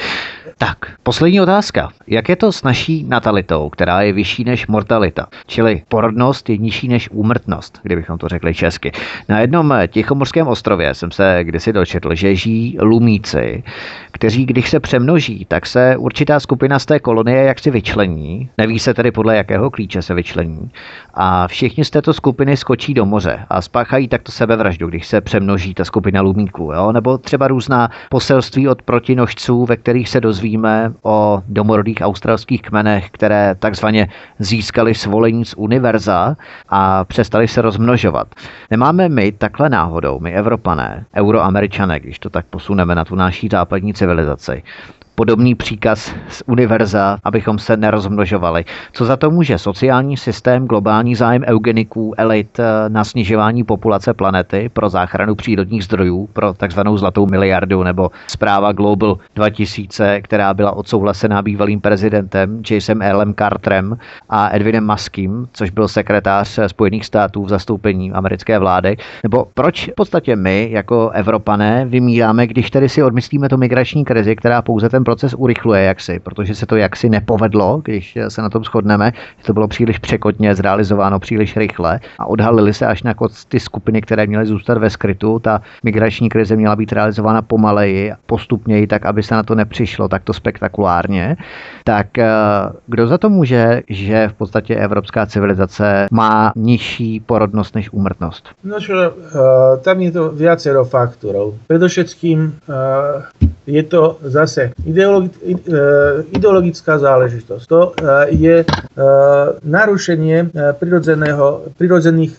Tak, poslední otázka. Jak je to s naší natalitou, která je vyšší než mortalita? Čili porodnost je nižší než úmrtnost, kdybychom to řekli česky. Na jednom tichomorském ostrově jsem se kdysi dočetl, že žijí lumíci, kteří, když se přemnoží, tak se určitá skupina z té kolonie jaksi vyčlení. Neví se tedy podle jakého klíče se vyčlení. A všichni z této skupiny skočí do moře a spáchají takto sebevraždu, když se přemnoží ta skupina lumíků. Jo? Nebo třeba různá poselství od protinožců, ve kterých se dozvíme o domorodých australských kmenech, které takzvaně získali svolení z univerza a přestali se rozmnožovat. Nemáme my takhle náhodou, my Evropané, Euroameričané, když to tak posuneme na tu naší západní civilizaci, podobný příkaz z univerza, abychom se nerozmnožovali. Co za to může? Sociální systém, globální zájem eugeniků, elit na snižování populace planety pro záchranu přírodních zdrojů, pro takzvanou zlatou miliardu, nebo zpráva Global dva tisíce, která byla odsouhlasená bývalým prezidentem Jasonem Earlem Carterem a Edwinem Muskem, což byl sekretář Spojených států v zastoupení americké vlády. Nebo proč v podstatě my jako Evropané vymíráme, když tedy si odmyslíme tu migrační krizi, která pouze ten proces urychluje jaksi, protože se to jaksi nepovedlo, když se na tom shodneme, že to bylo příliš překotně zrealizováno příliš rychle a odhalily se až na ty skupiny, které měly zůstat ve skrytu. Ta migrační krize měla být realizována pomaleji, postupněji, tak aby se na to nepřišlo takto spektakulárně. Tak kdo za to může, že v podstatě evropská civilizace má nižší porodnost než úmrtnost? No čo, uh, tam je to viacero faktorov. Predovšetkým uh, je to zase ideologi- ideologická záležitosť. To je narušenie prirodzeného, prirodzených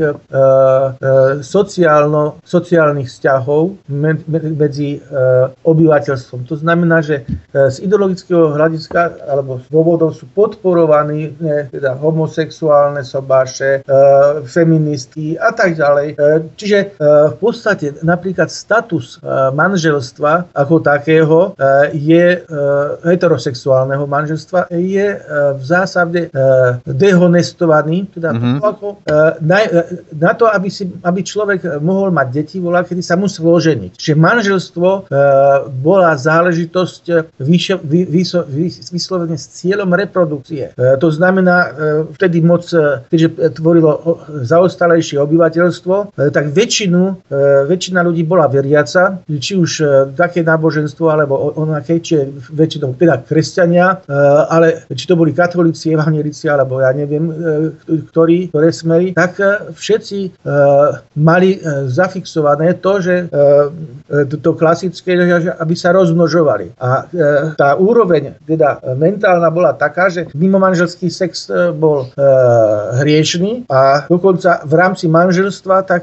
sociálno, sociálnych vzťahov medzi obyvateľstvom. To znamená, že z ideologického hľadiska alebo z dôvodov sú podporovaní teda homosexuálne sobáše, feministky a tak ďalej. Čiže v podstate napríklad status manželstva ako také je heterosexuálneho manželstva je v zásade dehonestovaný, teda mm-hmm. ako, na, na to, aby, si, aby človek mohol mať deti, volá, kedy sa musel oženiť. Čiže manželstvo bola záležitosť vyšo, vy, vyso, vy, vyslovene s cieľom reprodukcie. To znamená, vtedy moc, keďže tvorilo zaostalejšie obyvateľstvo, tak väčšinu, väčšina ľudí bola veriaca, či už také náboženstvo alebo onaké, či väčšinou teda kresťania, ale či to boli katolíci, evanjelici, alebo ja neviem, ktorí, ktoré smery, tak všetci mali zafixované to, že to klasické, aby sa rozmnožovali. A tá úroveň, teda mentálna bola taká, že mimomanželský sex bol hriešný a dokonca v rámci manželstva tak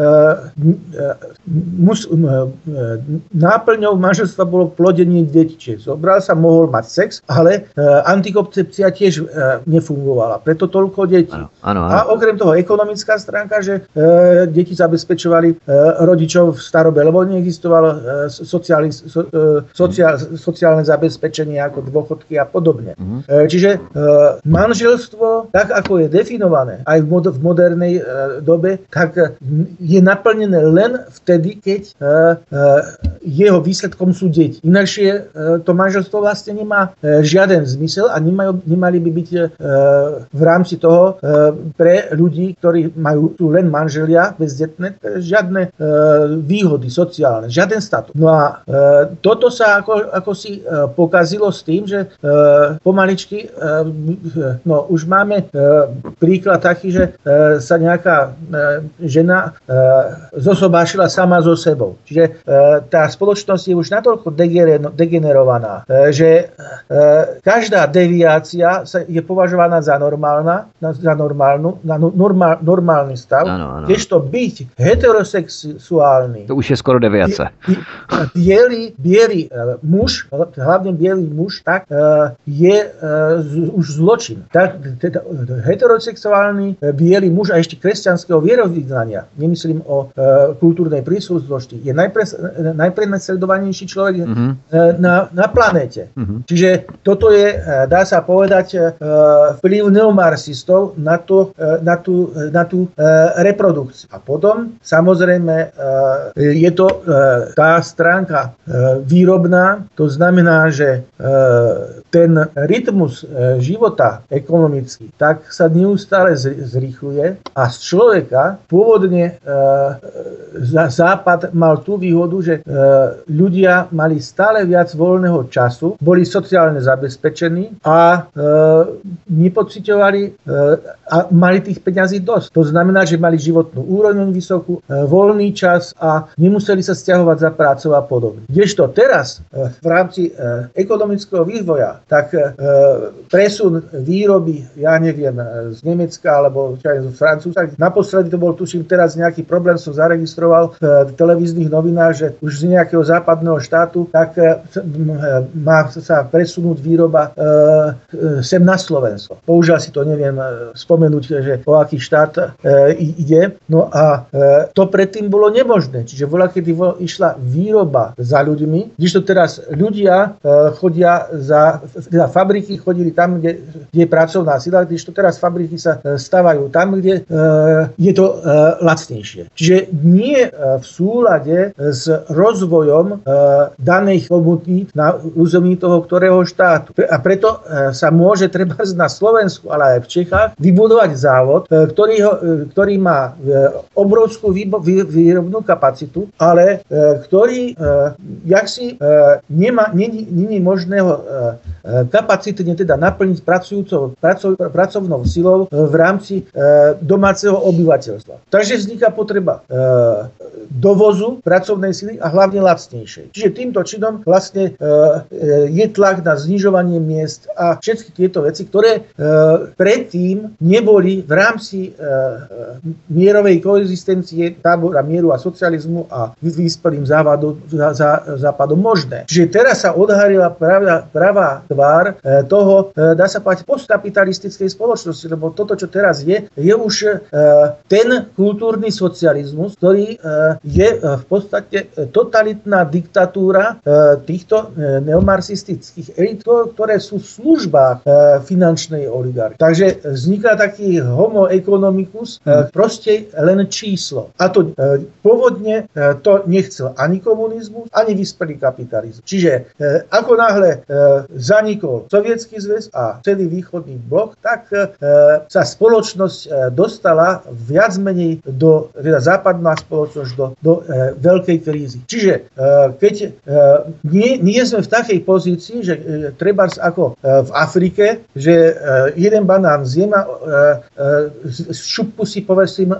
mus, náplňou manželstva bolo plodenie detí. Čiže zobral sa, mohol mať sex, ale uh, antikoncepcia tiež uh, nefungovala. Preto toľko detí. Ano, ano, ano. A okrem toho ekonomická stránka, že uh, deti zabezpečovali uh, rodičov v starobe, lebo neexistovalo uh, sociálne, so, uh, sociál, sociálne zabezpečenie ako dôchodky a podobne. Uh-huh. Uh, čiže uh, manželstvo, tak ako je definované aj v, mod- v modernej uh, dobe, tak uh, je naplnené len vtedy, keď uh, uh, jeho výsledkom sú deti. Inakšie to manželstvo vlastne nemá žiaden zmysel a nemajú, nemali by byť v rámci toho pre ľudí, ktorí majú tu len manželia bezdetné, žiadne výhody sociálne, žiaden status. No a toto sa ako, ako si pokazilo s tým, že pomaličky, no už máme príklad taký, že sa nejaká žena zosobášila sama so sebou. Čiže tá spoločnosť je už natoľko degenerovaná, že každá deviácia je považovaná za normálna, za normálnu, na normál, normálny stav, kdežto byť heterosexuálny. To už je skoro deviace. Bielý, bielý muž, hlavne bielý muž, tak je už zločin. Tak, teda, heterosexuálny bielý muž a ešte kresťanského vierovyznania, nemyslím o kultúrnej príslušnosti, je najpre, najprenasledovanejší človek čokoľvek mm-hmm. na, na planéte. Mm-hmm. Čiže toto je, dá sa povedať, vplyv neomarxistov na, to, na, tú, na tú reprodukciu. A potom, samozrejme, je to tá stránka výrobná, to znamená, že ten rytmus života ekonomický tak sa neustále zrýchluje a z človeka pôvodne Západ mal tú výhodu, že ľudia mali stále viac voľného času, boli sociálne zabezpečení a nepociťovali a mali tých peňazí dosť. To znamená, že mali životnú úroveň vysokú, voľný čas a nemuseli sa sťahovať za prácou a podobne. Kdežto teraz v rámci ekonomického vývoja, tak presun výroby, ja neviem, z Nemecka alebo z Francúzska, naposledy to bol, tuším, teraz nejaký problém som zaregistroval v televíznych novinách, že už z nejakého západného štátu, tak má sa presunúť výroba sem na Slovensko. Použiaľ si to, neviem spomenúť, že o aký štát ide. No a to predtým bolo nemožné. Čiže bola, kedy išla výroba za ľuďmi, kdežto teraz ľudia chodia za, teda fabriky chodili tam, kde, kde je pracovná sila, kdežto teraz fabriky sa stavajú tam, kde je to lacnejšie. Čiže nie v súlade s rozvojom daných komunít na území toho ktorého štátu. A preto sa môže treba na Slovensku, ale aj v Čechách vybudovať závod, ktorý, ho, ktorý má obrovskú výrobnú kapacitu, ale ktorý jaksi nemá, nie je možného kapacitne teda naplniť pracujúcou, pracov, pracovnou silou v rámci domáceho obyvateľstva. Takže vzniká potreba dovozu pracovnej sily a hlavne lacnejšej. Čiže týmto činom vlastne je tlak na znižovanie miest a všetky tieto veci, ktoré predtým neboli v rámci mierovej koexistencie tábora mieru a socializmu a vyspelým západom možné. Čiže teraz sa odhalila pravá, pravá tvár toho, dá sa povedať, postkapitalistickej spoločnosti, lebo toto, čo teraz je, je už ten kultúrny socializmus, ktorý je v podstate totalitná diktatúra týchto neomarxistických elit, ktoré sú v službách finančnej oligarchie. Takže vzniká taký homo economicus, proste len číslo. A to pôvodne to nechcel ani komunizmus, ani vyspelý kapitalizmus. Čiže ako náhle zanikol Sovietsky zväz a celý východný blok, tak sa spoločnosť dostala viac menej do, teda západná spoločnosť do, do e, veľkej krízy. Čiže e, keď e, nie, nie sme v takej pozícii, že e, treba ako e, v Afrike, že e, jeden banán zjem a e, e, šupku si povesím e,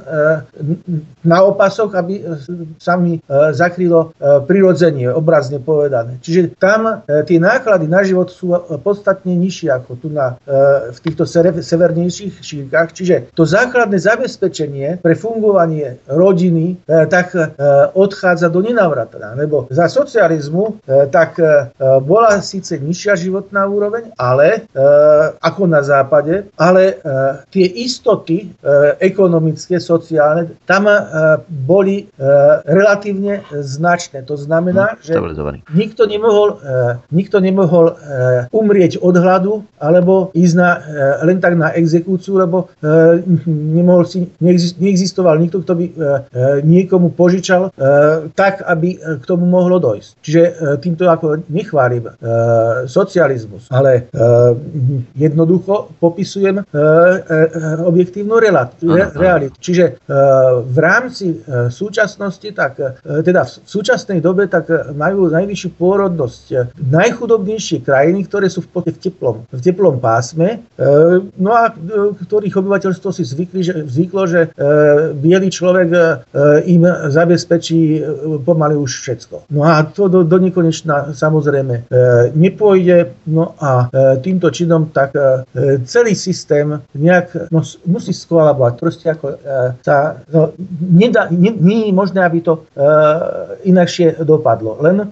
na opasok, aby sa mi e, zakrylo e, prirodzenie, obrazne povedané. Čiže tam e, tie náklady na život sú podstatne nižšie ako tu na, e, v týchto severnejších šírkach. Čiže to základné zabezpečenie pre fungovanie rodiny e, tak e, odchádza do nenávratna. Lebo za socializmu e, tak e, bola síce nižšia životná úroveň, ale e, ako na západe, ale e, tie istoty e, ekonomické, sociálne, tam e, boli e, relatívne značné. To znamená, hmm, že nikto nemohol, e, nikto nemohol e, umrieť od hladu, alebo ísť na, e, len tak na exekúciu, lebo e, nemohol si, neexistoval nikto, kto by e, niekomu požičal e, tak, aby k tomu mohlo dojsť. Čiže e, týmto ako nechválim e, socializmus, ale e, jednoducho popisujem e, e, objektívnu realitu. Čiže e, v rámci e, súčasnosti, tak e, teda v súčasnej dobe tak majú najvyššiu pôrodnosť e, najchudobnejšie krajiny, ktoré sú v, v, teplom, v teplom pásme, e, no a e, ktorých obyvateľstvo si zvykli, že, zvyklo, že e, biely človek e, im zabezpečí e, pomaly už všetko. No a to do, do nekonečna samozrejme e, nepôjde, no a e, týmto činom tak e, celý systém nejak no, musí skolabovať. Proste ako e, sa no, nedá, nie, nie je možné, aby to e, inakšie dopadlo. Len e,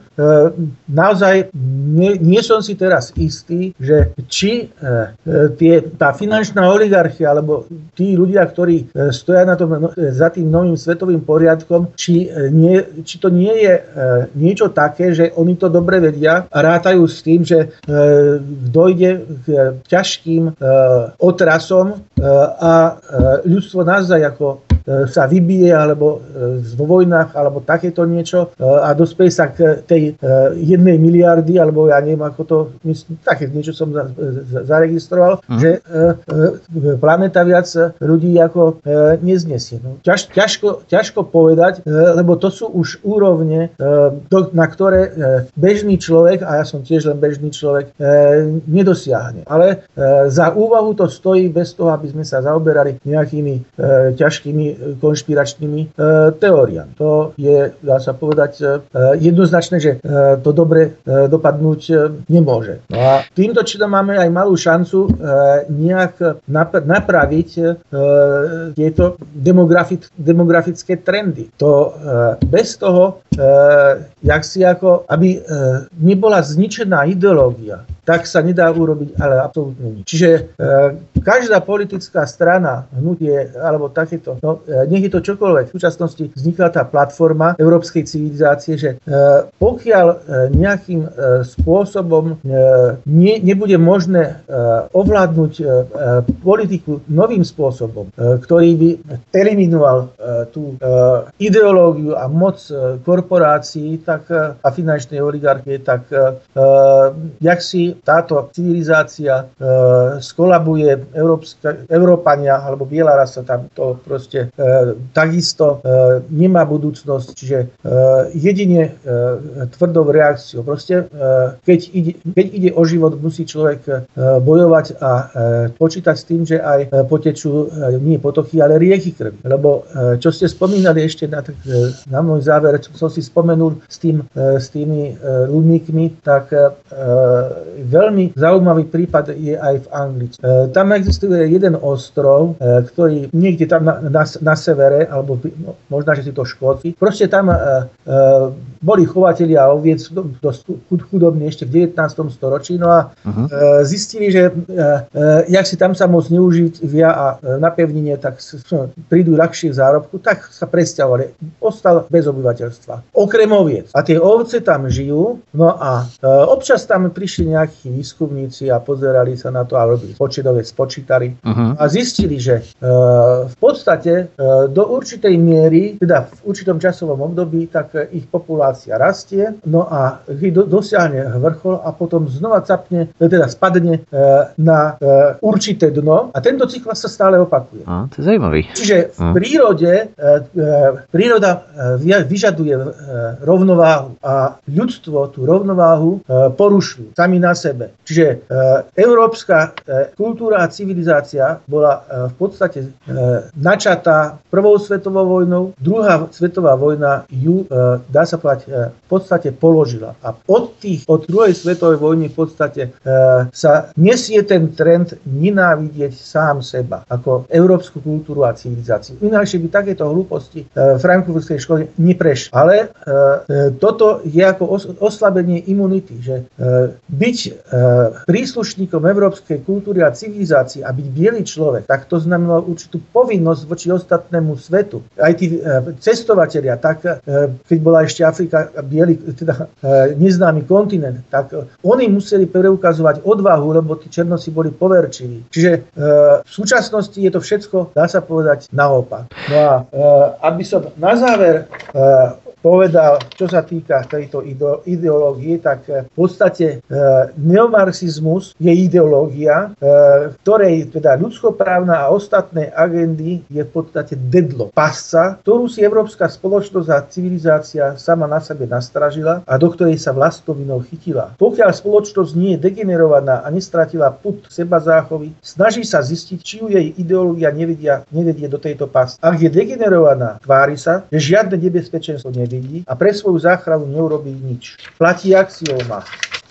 naozaj nie, nie som si teraz istý, že či e, tie, tá finančná oligarchia alebo tí ľudia, ktorí stoja na tom, za tým novým svetovým poriadkom, tom, či, nie, či to nie je niečo také, že oni to dobre vedia a rátajú s tým, že dojde k ťažkým otrasom a ľudstvo naozaj ako sa vybije alebo vo vojnách alebo takéto niečo a dospeje sa k tej jednej miliardy alebo ja neviem ako to, myslím, také niečo som zaregistroval, mm. že planéta viac ľudí ako neznesie. No, ťaž, ťažko, ťažko povedať, lebo to sú už úrovne, na ktoré bežný človek, a ja som tiež len bežný človek, nedosiahne. Ale za úvahu to stojí bez toho, aby sme sa zaoberali nejakými ťažkými konšpiračnými e, teóriami. To je, dá sa povedať, e, jednoznačné, že e, to dobre e, dopadnúť e, nemôže. No a týmto činom máme aj malú šancu e, nejak nap- napraviť e, tieto demografi- demografické trendy. To e, bez toho, e, jak si ako, aby e, nebola zničená ideológia, tak sa nedá urobiť, ale absolútne nič. Čiže e, každá politická strana, hnutie alebo takéto, no e, nech je to čokoľvek. V súčasnosti vznikla tá platforma európskej civilizácie, že e, pokiaľ e, nejakým e, spôsobom e, ne, nebude možné e, ovládnuť e, politiku novým spôsobom, e, ktorý by eliminoval e, tú e, ideológiu a moc e, korporácií tak, e, a finančnej oligarchie, tak e, jak si táto civilizácia e, skolabuje, Európska, Európania alebo biela rasa tam to proste e, takisto e, nemá budúcnosť, čiže e, jedine e, tvrdou reakciou. Proste e, keď, ide, keď ide o život, musí človek e, bojovať a e, počítať s tým, že aj e, potečú e, nie potochy, ale rieky krvi. Lebo e, čo ste spomínali ešte na, e, na môj záver, čo som si spomenul s, tým, e, s tými e, ľudníkmi, tak e, veľmi zaujímavý prípad je aj v Anglicku. E, tam existuje jeden ostrov, e, ktorý niekde tam na, na, na severe, alebo no, možno, že si to Škóti. Proste tam e, e, boli chovatelia oviec dosť chudobní ešte v devätnástom storočí, no a uh-huh. e, zistili, že e, e, jak si tam sa moc neuživia a e, na pevnine tak s, prídu ľahšie v zárobku, tak sa presťahovali. Ostal bez obyvateľstva. Okrem oviec. A tie ovce tam žijú, no a e, občas tam prišli nejakí výskumníci a pozerali sa na to a robili početové spočítali uh-huh. a zistili, že e, v podstate e, do určitej miery, teda v určitom časovom období, tak e, ich populácia rastie, no a do, dosiahne vrchol a potom znova capne, teda spadne e, na e, určité dno a tento cyklus sa stále opakuje. A, to je zajímavý. Čiže v prírode e, e, príroda e, vyžaduje e, rovnováhu a ľudstvo tú rovnováhu e, porušujú sami na sebe. Čiže e, európska e, kultúra a civilizácia bola e, v podstate e, načatá prvou svetovou vojnou, druhá svetová vojna ju, e, dá sa povedať, e, v podstate položila. A od tých, od druhej svetovej vojny v podstate e, sa nesie ten trend nenávidieť sám seba, ako európsku kultúru a civilizáciu. Ináč by takéto hlúposti e, v frankfurtskej škole neprešli. Ale e, toto je ako os, oslabenie imunity, že e, byť e, príslušníkom európskej kultúry a civilizácie a byť biely človek, tak to znamenalo určitú povinnosť voči ostatnému svetu. Aj tí e, cestovatelia, tak e, keď bola ešte Afrika biely, teda e, neznámy kontinent, tak e, oni museli preukazovať odvahu, lebo tí černosi boli poverčiví. Čiže e, v súčasnosti je to všetko, dá sa povedať, naopak. No a e, aby som na záver e, povedal, čo sa týka tejto ideológie, tak v podstate e, neomarxizmus je ideológia, e, ktorej teda ľudskoprávna a ostatné agendy je v podstate dedlo, pasca, ktorú si európska spoločnosť a civilizácia sama na sebe nastražila a do ktorej sa vlastnou vinou chytila. Pokiaľ spoločnosť nie je degenerovaná a nestratila pud seba záchovy, snaží sa zistiť, či ju jej ideológia nevedia, nevedie do tejto pasce. Ak je degenerovaná, tvári sa, že žiadne nebezpečenstvo nevidí a pre svoju záchranu neurobí nič. Platí axióma.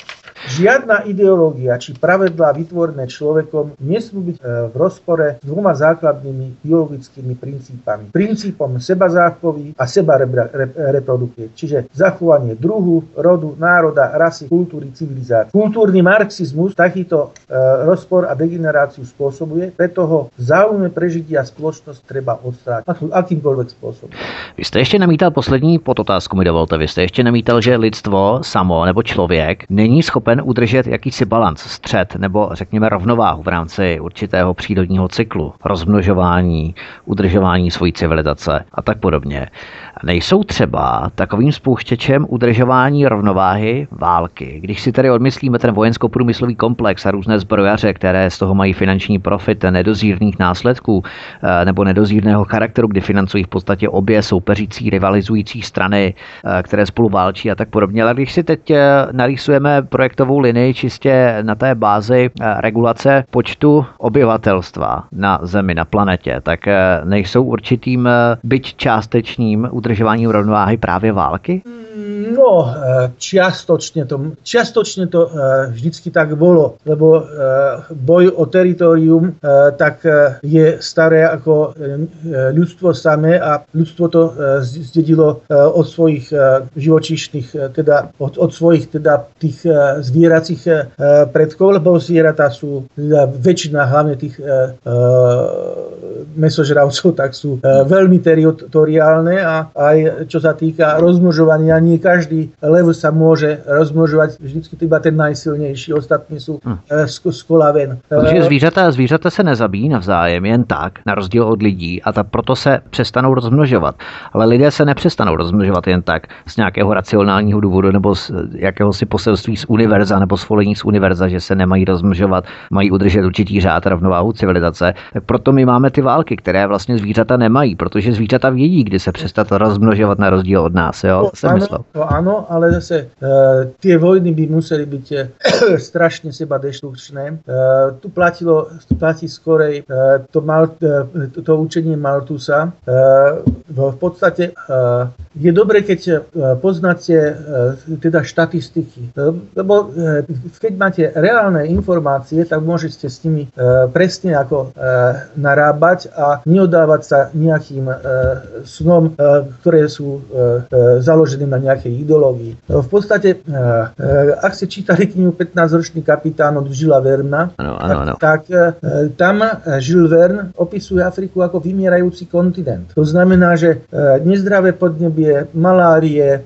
Žiadna ideológia či pravidlá vytvorené človekom nesmú byť v rozpore s dvoma základnými biologickými princípami. Princípom seba záchovy a seba reprodukcie, čiže zachovanie druhu, rodu, národa, rasy, kultúry, civilizácie. Kultúrny marxizmus takýto e, rozpor a degeneráciu spôsobuje, preto ho v záujme prežitia spoločnosť treba odstrániť akýmkoľvek spôsobom. Vy jste ještě namítal poslední podotázku, mi dovolte. Vy jste ještě namítal, že lidstvo samo nebo člověk není schopen udržet jakýsi balans, střed nebo řekněme rovnováhu v rámci určitého přírodního cyklu, rozmnožování, udržování svojí civilizace a tak podobně. Nejsou třeba takovým spouštěčem udržování rovnováhy války. Když si tedy odmyslíme ten vojensko-průmyslový komplex a různé zbrojaře, které z toho mají finanční profit nedozírných následků nebo nedozírného charakteru, kdy financují v podstatě obě soupeřící, rivalizující strany, které spolu válčí a tak podobně. Ale když si teď narýsujeme projektovou linii čistě na té bázi regulace počtu obyvatelstva na Zemi, na planetě, tak nejsou určitým, byť částečným udržováním rovnováhy právě války? No, čiastočne to, čiastočne to vždycky tak bolo, lebo boj o teritorium tak je staré ako ľudstvo samé a ľudstvo to zdedilo od svojich živočíšnych, teda od, od svojich teda tých zvieracích predkov, lebo zvieratá sú teda väčšina hlavne tých mesožravcov, tak sú veľmi teritoriálne a aj čo sa týka rozmnožovania, nie každý lev sa môže rozmnožovať, vždycky iba ten najsilnější, ostatní jsou hmm. z kola ven. Protože zvířata, zvířata se nezabíjí navzájem jen tak, na rozdíl od lidí, a ta proto se přestanou rozmnožovat. Ale lidé se nepřestanou rozmnožovat jen tak z nějakého racionálního důvodu nebo z jakéhosi poselství z univerza nebo svolení z univerza, že se nemají rozmnožovat, mají udržet určitý řád, rovnováhu civilizace. Tak proto my máme ty války, které vlastně zvířata nemají, protože zvířata vědí, kdy se přestat rozmnožovat na rozdíl od nás. Jo? To jsem myslel. To áno, ale zase uh, tie vojny by museli byť uh, strašne seba deštrukčné. Uh, tu platilo, tu platí skorej uh, to, mal, uh, to, to učenie Malthusa. Uh, v podstate uh, je dobre, keď uh, poznáte uh, teda štatistiky, uh, lebo uh, keď máte reálne informácie, tak môžete s nimi uh, presne ako uh, narábať a neodávať sa nejakým uh, snom, uh, ktoré sú uh, uh, založené na nejakej ideológii. V podstate, ak ste čítali knihu pätnásťročný kapitán od Žila Verna, ano, ano, ano. tak, tak tam Žil Verne opisuje Afriku ako vymierajúci kontinent. To znamená, že nezdravé podnebie, malárie,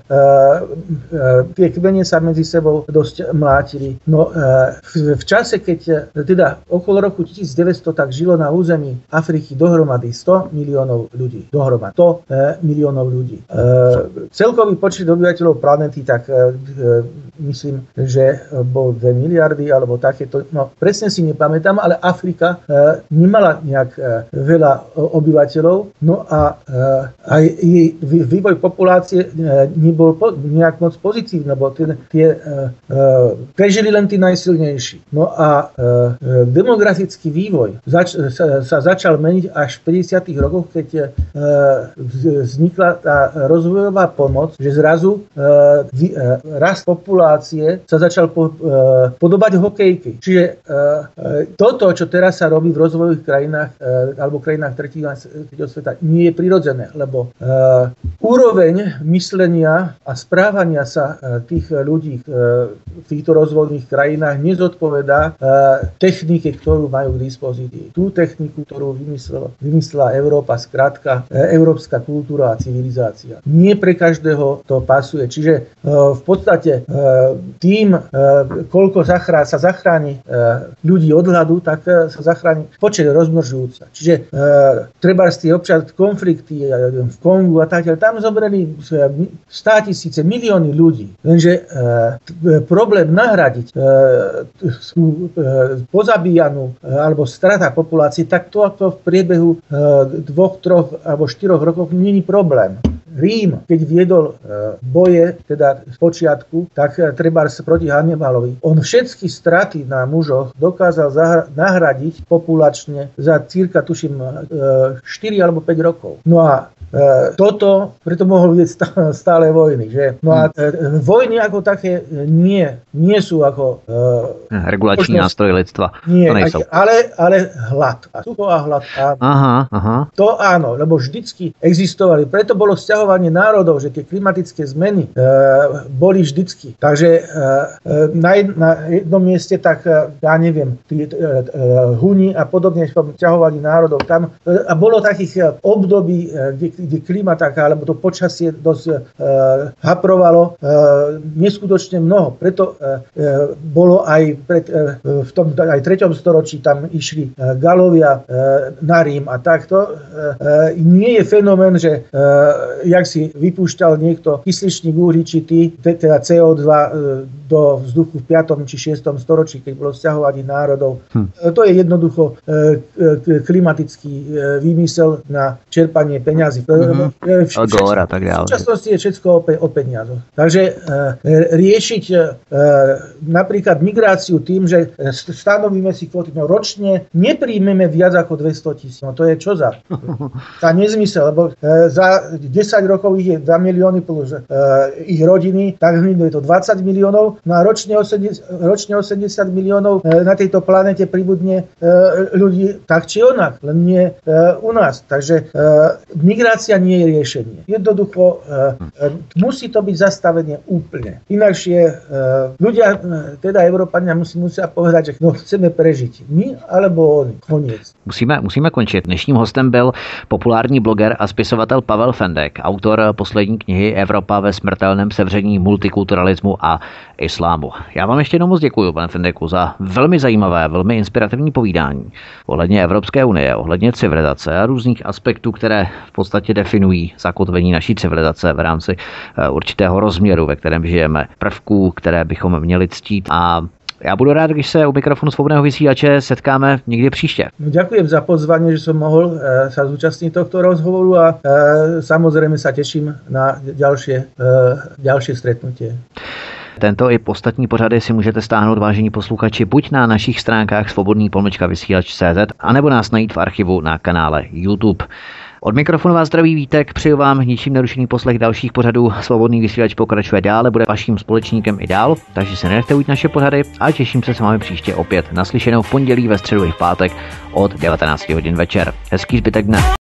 tie kmene sa medzi sebou dosť mlátili. No v čase, keď teda okolo roku tisícdeväťsto tak žilo na území Afriky dohromady sto miliónov ľudí. Dohromady sto miliónov ľudí. Celkový počet obyvateľov planety, tak e, myslím, že bol dve miliardy alebo takéto. No, presne si nepamätám, ale Afrika e, nemala nejak e, veľa obyvateľov. No a e, aj jej vývoj populácie e, nebol po, nejak moc pozitívny, lebo tie, tie e, e, prežili len tí najsilnejší. No a e, demografický vývoj zač, sa, sa začal meniť až v päťdesiatych rokoch, keď e, vznikla tá rozvojová pomoc, že zrazu e, vy, e, rast populácie sa začal po, e, podobať hokejky. Čiže e, toto, čo teraz sa robí v rozvojových krajinách e, alebo krajinách tretieho sveta, nie je prirodzené, lebo e, úroveň myslenia a správania sa e, tých ľudí e, v týchto rozvojových krajinách nezodpovedá e, technike, ktorú majú k dispozícii. Tú techniku, ktorú vymyslela, vymyslela Európa, skrátka e, európska kultúra a civilizácia. Nie pre každého to pasuje. Čiže e, v podstate e, tým, e, koľko zachrá, sa zachráni e, ľudí od hladu, tak e, sa zachráni počet rozmnožujúca. Čiže e, treba z tie občas konflikty e, v Kongu a tak, tam zobrali státisíce, milióny ľudí. Lenže e, t, problém nahradiť e, tú e, pozabíjanú e, alebo strata populácie, tak to ako v priebehu e, dvoch, troch alebo štyroch rokov nie je problém. Rím, keď viedol e, boje, teda z počiatku, tak e, trebárs proti Hannibalovi. On všetky straty na mužoch dokázal zahra- nahradiť populačne za cirka, tuším, e, štyri alebo päť rokov. No a toto, preto mohol vidieť stále vojny. Že? No a vojny ako také nie, nie sú ako... Regulační nástroj lidstva. Nie, ale, ale hlad. A sucho a hlad. Áno. Aha, aha. To áno, lebo vždycky existovali. Preto bolo sťahovanie národov, že tie klimatické zmeny e, boli vždycky. Takže e, na, jed, na jednom mieste tak, ja neviem, tí e, e, Huni a podobne sťahovali národov tam. E, a bolo takých období, e, kde, kde klima taká, alebo to počasie dosť e, haprovalo e, neskutočne mnoho. Preto e, e, bolo aj pred, e, v tom aj treťom storočí tam išli e, Galovia e, na Rím a takto. E, e, nie je fenomén, že e, jak si vypúšťal niekto kysličník uhličitý, teda cé ó dva e, do vzduchu v piatom či šiestom storočí, keď bolo sťahovanie národov. Hm. E, to je jednoducho e, e, klimatický e, výmysel na čerpanie peňazí. Mm-hmm. E, v, Agora, tak ďalej. V súčasnosti je všetko o, pe, o peniazoch. Takže e, riešiť e, napríklad migráciu tým, že stanovíme si kvóty, no ročne nepríjmeme viac ako dvesto tisíc. No to je čo za? Za nezmysel, lebo e, za desať rokov ich je dva milióny plus e, ich rodiny, tak je to dvadsať miliónov, no a ročne osemdesiat, ročne osemdesiat miliónov e, na tejto planete pribudne e, ľudí tak či onak, len nie e, u nás. Takže e, migrácia nie je riešenie. Jednoducho e, e, musí to byť zastavenie úplne. Inakšie e, ľudia, e, teda Európania musí, musia povedať, že no, chceme prežiť. My alebo oni. Koniec. Musíme, musíme končit. Dnešním hostem byl populární bloger a spisovatel Pavel Fendek, autor poslední knihy Evropa ve smrtelném sevření multikulturalismu a islámu. Já vám ještě jednou moc děkuji, pane Fendeku, za velmi zajímavé, velmi inspirativní povídání ohledně Evropské unie, ohledně civilizace a různých aspektů, které v podstatě definují zakotvení naší civilizace v rámci určitého rozměru, ve kterém žijeme, prvků, které bychom měli ctít. A já budu rád, když se u mikrofonu Svobodného vysílače setkáme někdy příště. No, ďakujem za pozvanie, že som mohol e, sa zúčastniť tohto rozhovoru a e, samozrejme sa teším na ďalšie, e, ďalšie stretnutie. Tento i ostatní pořady si můžete stáhnout, vážení posluchači, buď na našich stránkách svobodný pomlčka vysílač tečka cé zet, anebo nás najít v archivu na kanále YouTube. Od mikrofonu vás zdraví Vítek, přeju vám ničím nerušený poslech dalších pořadů. Svobodný vysílač pokračuje dále, bude vaším společníkem i dál, takže se nenechte ujít naše pořady a těším se s vámi příště opět naslyšenou v pondělí, ve středu i v pátek od devatenáct hodin večer. Hezký zbytek dne.